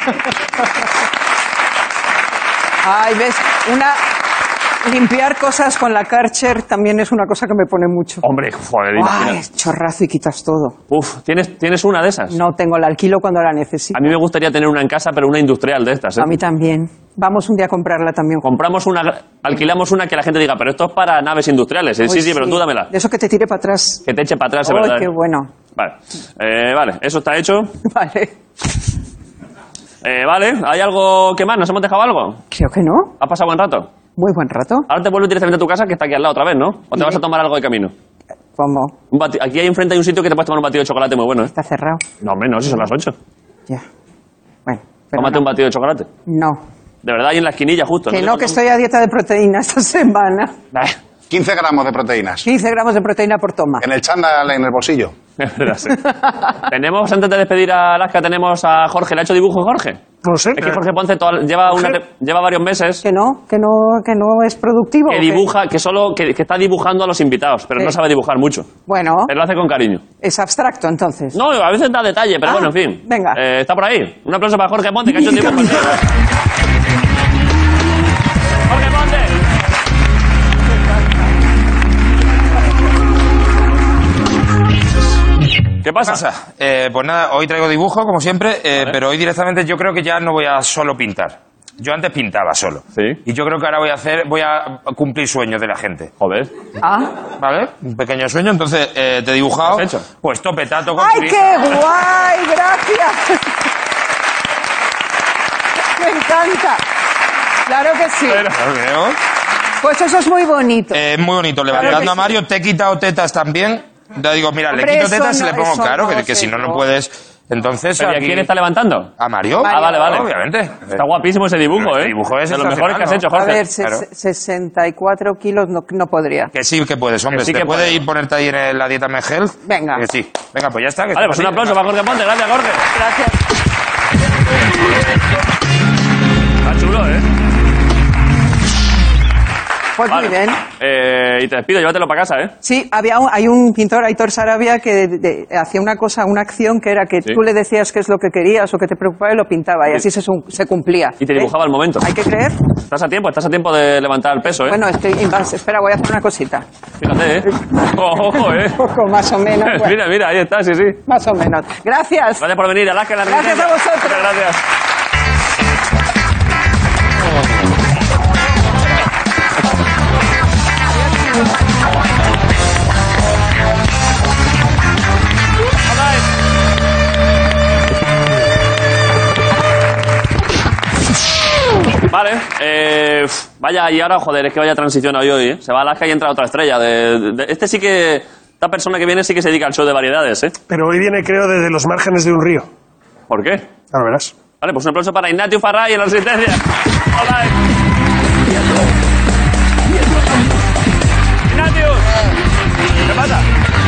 ay, ves, una... Limpiar cosas con la Karcher también es una cosa que me pone mucho. Hombre, joder, Ay, imagina. chorrazo y quitas todo. Uf, ¿tienes, ¿tienes una de esas? No tengo, la alquilo cuando la necesito. A mí me gustaría tener una en casa, pero una industrial de estas, ¿eh? A mí también. Vamos un día a comprarla también. Compramos una, alquilamos una que la gente diga, pero esto es para naves industriales. ¿eh? Sí, Uy, sí, pero tú dámela. De eso que te tire para atrás. Que te eche para atrás, es Ay, verdad. qué ¿eh? bueno. Vale. Eh, vale, eso está hecho. Vale. Eh, vale, ¿hay algo que más? ¿Nos hemos dejado algo? Creo que no. ¿Has pasado buen rato? Muy buen rato. Ahora te vuelves directamente a tu casa, que está aquí al lado otra vez, ¿no? ¿O te vas a tomar algo de camino? ¿Cómo? Un bati- Aquí hay enfrente hay un sitio que te puedes tomar un batido de chocolate muy bueno, ¿eh? Está cerrado. No, hombre, no, si son las ocho. Ya. Bueno. pero Tómate no. un batido de chocolate. No. De verdad, ahí en la esquinilla justo. Que te no, que pongas- estoy a dieta de proteína esta semana. Eh, quince gramos de proteínas. quince gramos de proteína por toma. En el chándal, en el bolsillo. Es verdad, sí. Tenemos, antes de despedir a Alaska, tenemos a Jorge. ¿Le ha hecho dibujo Jorge? No sé. Es que Jorge Ponce toda- lleva, una, Jorge. te- lleva varios meses Que no, que no, que no es productivo. que ¿o qué? dibuja, que solo que, que está dibujando a los invitados, pero Sí. no sabe dibujar mucho. Bueno, Pero lo hace con cariño. es abstracto entonces. No, a veces da detalle, pero Ah, bueno, en fin. venga. Eh, está por ahí. Un aplauso para Jorge Ponte, que ha hecho un dibujo. Jorge Ponte. ¿Qué pasa? pasa? Eh, pues nada, hoy traigo dibujo, como siempre, eh, Vale. pero hoy directamente yo creo que ya no voy a solo pintar. Yo antes pintaba solo. Sí. Y yo creo que ahora voy a hacer, voy a cumplir sueños de la gente. Joder. Ah. ¿Vale? Un pequeño sueño, entonces eh, te he dibujado. ¿Qué has hecho? Pues topetato con ¡Ay, chorizo. qué guay! ¡Gracias! Me encanta. Claro que sí. Lo veo. Pues eso es muy bonito. Eh, muy bonito. Claro Levantando que a Mario, te he quitado tetas también. Ya digo, mira, Hombre, le quito eso tetas y no- le pongo eso claro, no que, que sé si no, no yo. puedes. Entonces. ¿Pero y a aquí- quién está levantando? ¿A Mario? Ah, vale, vale. Obviamente. Está guapísimo ese dibujo, Este ¿eh? dibujo es de los mejores que has hecho, sensacional, A Jorge. ver, se- claro. se- sesenta y cuatro kilos no, no podría. Que sí que puedes, hombre. Que sí ¿Te que puede puede. ir ponerte ahí en la dieta Megel? Venga. Que sí. Venga, pues ya está. que Vale, está pues un así. aplauso para Jorge Ponte. Gracias, Jorge. Gracias. Está chulo, ¿eh? Pues Vale. muy bien. Eh, y te despido, llévatelo para casa, ¿eh? Sí, había un- hay un pintor, Aitor Sarabia, que de- de- hacía una cosa, una acción que era que Sí. tú le decías qué es lo que querías o que te preocupaba y lo pintaba y así se, su- se cumplía. Y te ¿Eh? dibujaba al momento. Hay que creer. Estás a tiempo, estás a tiempo de levantar el peso, ¿eh? Bueno, estoy, vas- espera, voy a hacer una cosita. Fíjate, ¿eh? Ojo, ojo, ¿eh? Un poco más o menos. bueno, Mira, mira, ahí está, sí, sí. más o menos. Gracias. Gracias por venir, Alaska, en la Gracias Resistencia. a vosotros. Muchas gracias. Vale, eh, uf, vaya, y ahora, joder, es que vaya transición hoy, hoy, ¿eh? Se va a Alaska y entra otra estrella. De, de- de- este sí que, esta persona que viene sí que se dedica al show de variedades, ¿eh? Pero hoy viene, creo, desde los márgenes de un río. ¿Por qué? Ahora verás. Vale, pues un aplauso para Ignatius Farray en la Resistencia. Hola. Ignatius. ¿Qué pasa?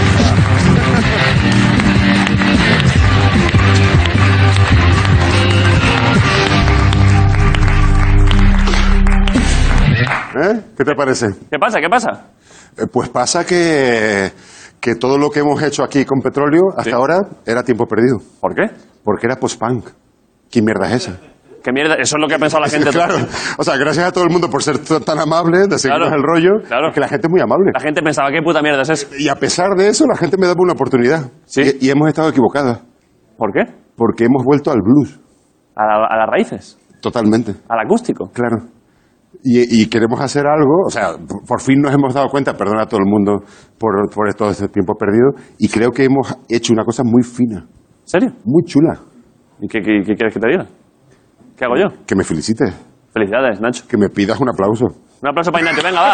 ¿Eh? ¿Qué te parece? ¿Qué pasa? ¿Qué pasa? Eh, Pues pasa que, que todo lo que hemos hecho aquí con petróleo hasta Sí. ahora era tiempo perdido. ¿Por qué? Porque era post-punk. ¿Qué mierda es esa? ¿Qué mierda? Eso es lo que ha pensado la gente. claro. O sea, gracias a todo el mundo por ser t- tan amable, de seguirnos Claro. el rollo. Claro. Que la gente es muy amable. La gente pensaba, ¿qué puta mierda es eso? Y a pesar de eso, la gente me daba una oportunidad. Sí. Y, y hemos estado equivocadas. ¿Por qué? Porque hemos vuelto al blues. A, la- a las raíces, Totalmente. al acústico. Claro. Y, y queremos hacer algo, o sea, por, por fin nos hemos dado cuenta, perdona a todo el mundo por, por todo este tiempo perdido, y creo que hemos hecho una cosa muy fina, ¿En serio? muy chula. ¿Y qué, qué- qué quieres que te diga? ¿Qué hago yo? Que me felicites, Felicidades, Nacho. que me pidas un aplauso. Un aplauso para Ignatius, venga, va.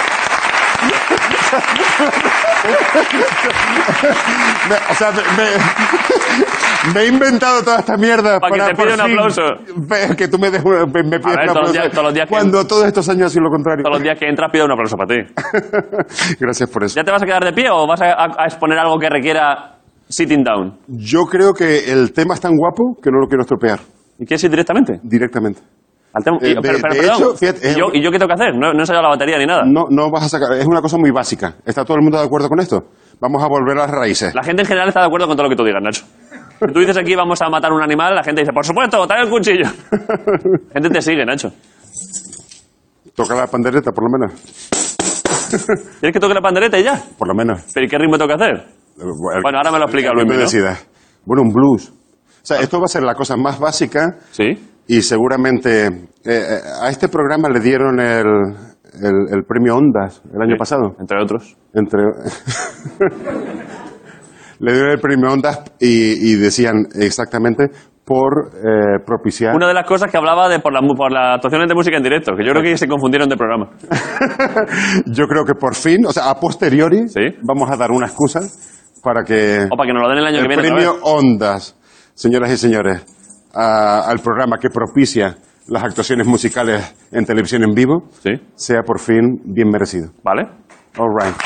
Me- o sea, me, me- me he inventado toda esta mierda Pa' que te por pida un fin aplauso. ve- Que tú me, des una- me, me pidas ver, un todos los aplauso. días- todos los días que- cuando todos estos años ha sido lo contrario. Todos los días que entras pido un aplauso para ti. Gracias por eso. ¿Ya te vas a quedar de pie o vas a, a- a exponer algo que requiera sitting down? Yo creo que el tema es tan guapo que no lo quiero estropear ¿Y quieres ir directamente? directamente. Al tema- Eh, y- de- pero, pero, de perdón, hecho, fíjate, ¿y, es- yo, ¿y yo qué tengo que hacer? No, no he ensayado la batería ni nada. No, no vas a sacar, es una cosa muy básica. ¿Está todo el mundo de acuerdo con esto? Vamos a volver a las raíces. La gente en general está de acuerdo con todo lo que tú digas, Nacho. Si tú dices aquí vamos a matar un animal, la gente dice, por supuesto, trae el cuchillo. La gente te sigue, Nacho. Toca la pandereta, por lo menos. ¿Quieres que toque la pandereta y ya? Por lo menos. ¿Pero y qué ritmo tengo que hacer? Bueno, ahora me lo explica Que Luis, tú ¿no? decidas. Bueno, un blues. O sea, esto va a ser la cosa más básica Sí. y seguramente eh, eh, a este programa le dieron el, el- el premio Ondas el año Sí, pasado. Entre otros. Entre... le dieron el premio Ondas y, y decían exactamente por eh, propiciar... Una de las cosas que hablaba de por, la, por las actuaciones de música en directo, que yo creo que se confundieron de programa. Yo creo que por fin, o sea, a posteriori, ¿Sí? vamos a dar una excusa para que... O para que nos lo den el año el que viene. premio Ondas, señoras y señores, a- al programa que propicia las actuaciones musicales en televisión en vivo, ¿Sí? sea por fin bien merecido. ¿Vale? All right.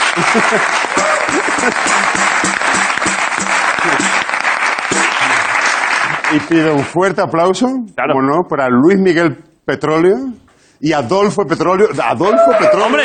Y pido un fuerte aplauso, Claro. como no, para Luis Miguel Petróleo y Adolfo Petróleo. Adolfo Petróleo. ¡Hombre!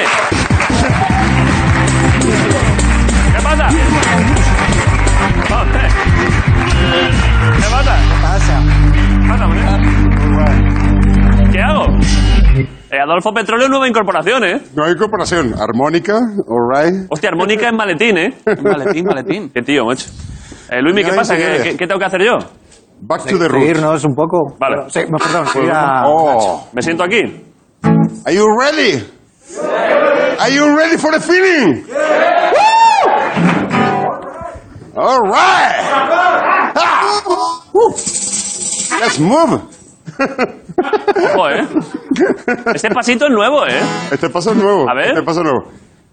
¿Qué pasa? Hombre. ¿Qué pasa? ¿Qué pasa, hombre? ¿Qué hago? Eh, Adolfo Petróleo, nueva incorporación, ¿eh? No hay incorporación. Armónica, all right. Hostia, armónica en maletín, ¿eh? Maletín, maletín. Qué tío, macho. Eh, Luismi, ¿qué Señoras y pasa? ¿Qué, señores. qué, qué tengo que hacer yo? Back to the roots. Seguirnos un poco. Vale. Bueno, sí, no, perdón, seguir a... Oh. ¿Me siento aquí? Are you ready? Are you ready for the feeling? Woo! All right. Ah. Woo. Let's move. Ojo, ¿eh? Este pasito es nuevo, ¿eh? Este paso es nuevo. A ver. Este paso es nuevo.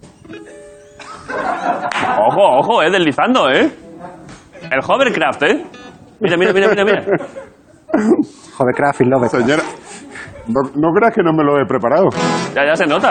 Ojo, ojo, ¿eh? Deslizando, ¿eh? El hovercraft, ¿eh? Mira, mira, mira, mira, mira. Hovercraft y Love. Señora, no, no creas que no me lo he preparado. Ya, ya se nota.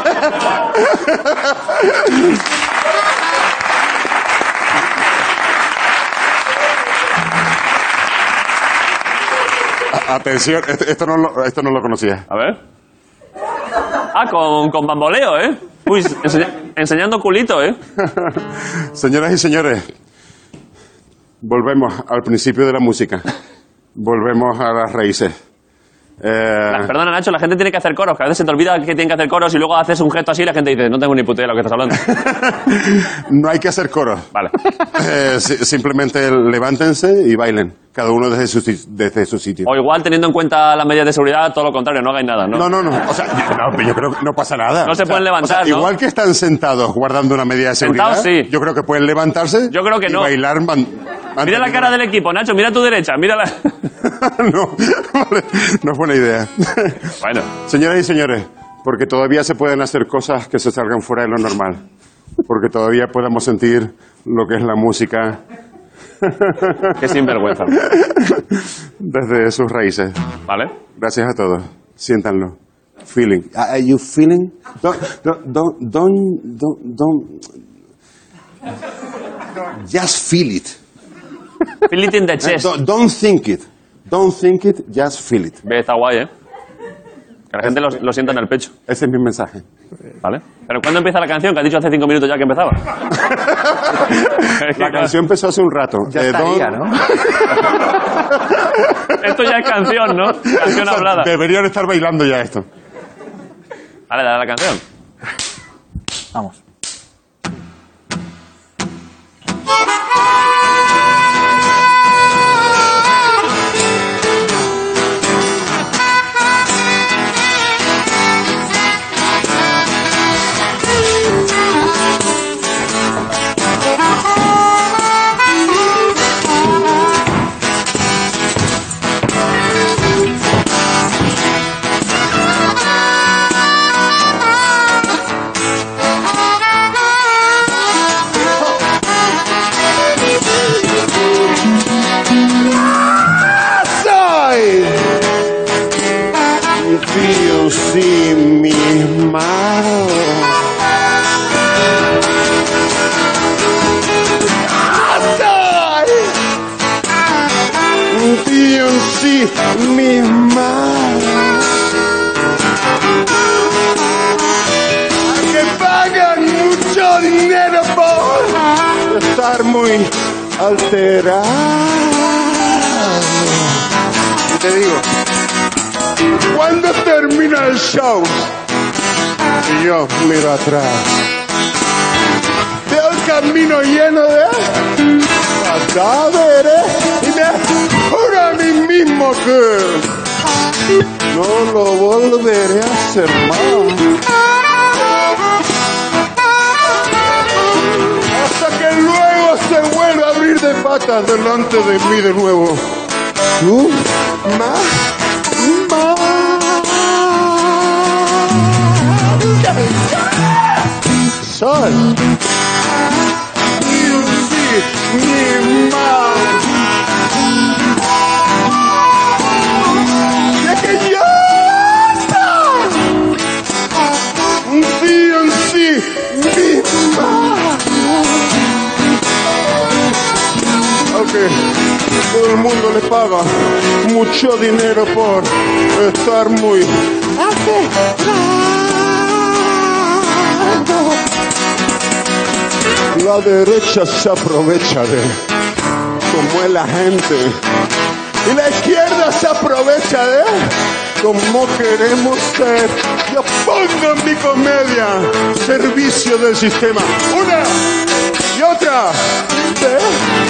A- Atención, esto, esto, no lo, esto no lo conocía. A ver. Ah, con, con bamboleo, ¿eh? Uy, enseña- enseñando culito, ¿eh? Señoras y señores, volvemos al principio de la música. Volvemos a las raíces. Eh, La- Perdona, Nacho, la gente tiene que hacer coros. Que a veces se te olvida que tienen que hacer coros y luego haces un gesto así y la gente dice, no tengo ni puta idea de lo que estás hablando. no hay que hacer coros. Vale. Eh, si- simplemente levántense y bailen, cada uno desde su, si- desde su sitio. O igual, teniendo en cuenta las medidas de seguridad, todo lo contrario, no hagáis nada, ¿no? No, no, no. O sea, yo, no, pero yo creo que no pasa nada. No se O sea, pueden levantar, o sea, ¿no? Igual que están sentados guardando una medida de seguridad, Sentados, sí. yo creo que pueden levantarse Yo creo que y no. bailar. man- Mira la cara del equipo, Nacho, mira a tu derecha, mira la... no, vale, no es buena idea. Bueno, Señoras y señores, porque todavía se pueden hacer cosas que se salgan fuera de lo normal. Porque todavía podemos sentir lo que es la música qué sinvergüenza. desde sus raíces. ¿Vale? Gracias a todos. Siéntanlo. Feeling. Are you feeling? Don't, don't, don't, don't, don't, don't- Just feel it. Feel it in the chest. Don't, don't think it. Don't think it, just feel it. Ve, está guay, ¿eh? Que la gente lo, lo sienta en el pecho. Ese es mi mensaje. ¿Vale? Pero ¿cuándo empieza la canción? Que has dicho hace cinco minutos ya que empezaba. Es que, La canción empezó hace un rato. Ya Eh, estaría, don't- ¿no? Esto ya es canción, ¿no? Canción hablada. Deberían estar bailando ya esto. Dale, dale a la canción. Vamos. Soy Dios y mi mano. Soy Dios y mi mano. Que pagan mucho dinero por estar muy alterado. Y te digo, cuando termina el show, y yo miro atrás, veo el camino lleno de cadáveres y me juro a mí mismo que no lo volveré a hacer más. Hasta que luego se vuelva a abrir de patas delante de mí de nuevo. Tú, ma, ma. Sol. Mi ma. ¡Ya que ya está! Un día en sí, mi ma. Aunque todo el mundo le paga mucho dinero por estar muy la derecha se aprovecha de cómo es la gente y la izquierda se aprovecha de cómo queremos ser. Yo pongo en mi comedia servicio del sistema una y otra vez,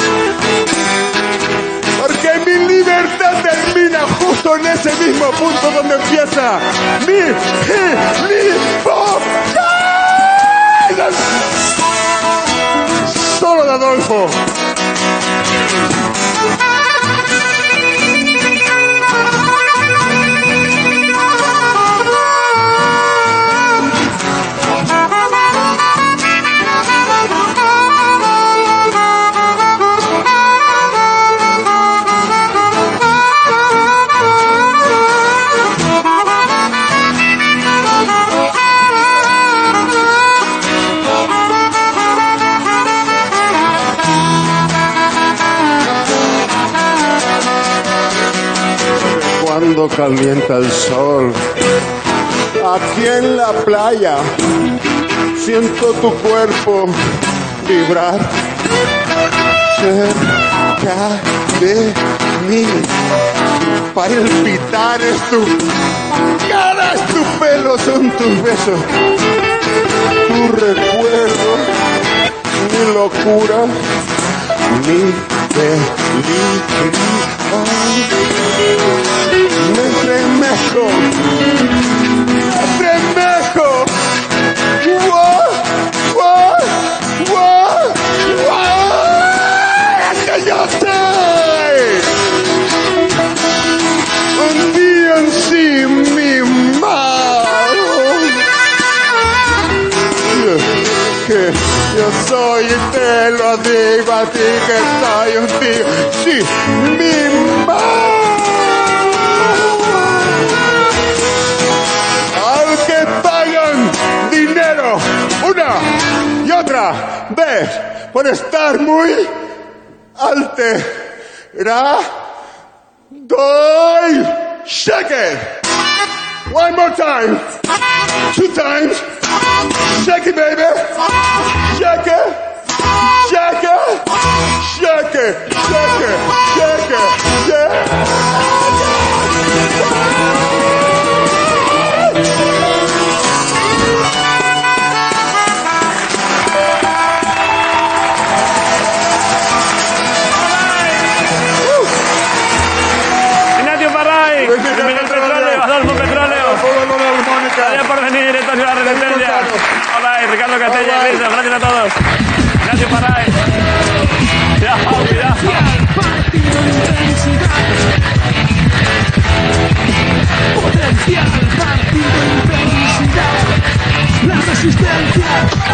porque mi libertad termina justo en ese mismo punto donde empieza mi libertad. Solo de Adolfo. Cuando calienta el sol, aquí en la playa, siento tu cuerpo vibrar cerca de mí. Palpitar es tu cara, es tu pelo, son tus besos, tu recuerdo, mi locura, mi felicidad. Me estremezco, me estremezco. ¡Wow! ¡Wow! ¡Wow! ¡Wow! ¡Que yo estoy! Un día en sí mimado. Que yo soy y te lo digo a ti que soy un tío, sí, mimado. Dinero, una y otra vez, por estar muy alterado. Doy, shake it. One more time. Two times. Shake it, baby. Shake it. Shake it. Shake it. Shake it. Shake it. Shake it. Adolfo Petróleo. Gracias por venir, esto es la Resistencia. Hola, Ricardo Castella, gracias a todos. Gracias, Paray.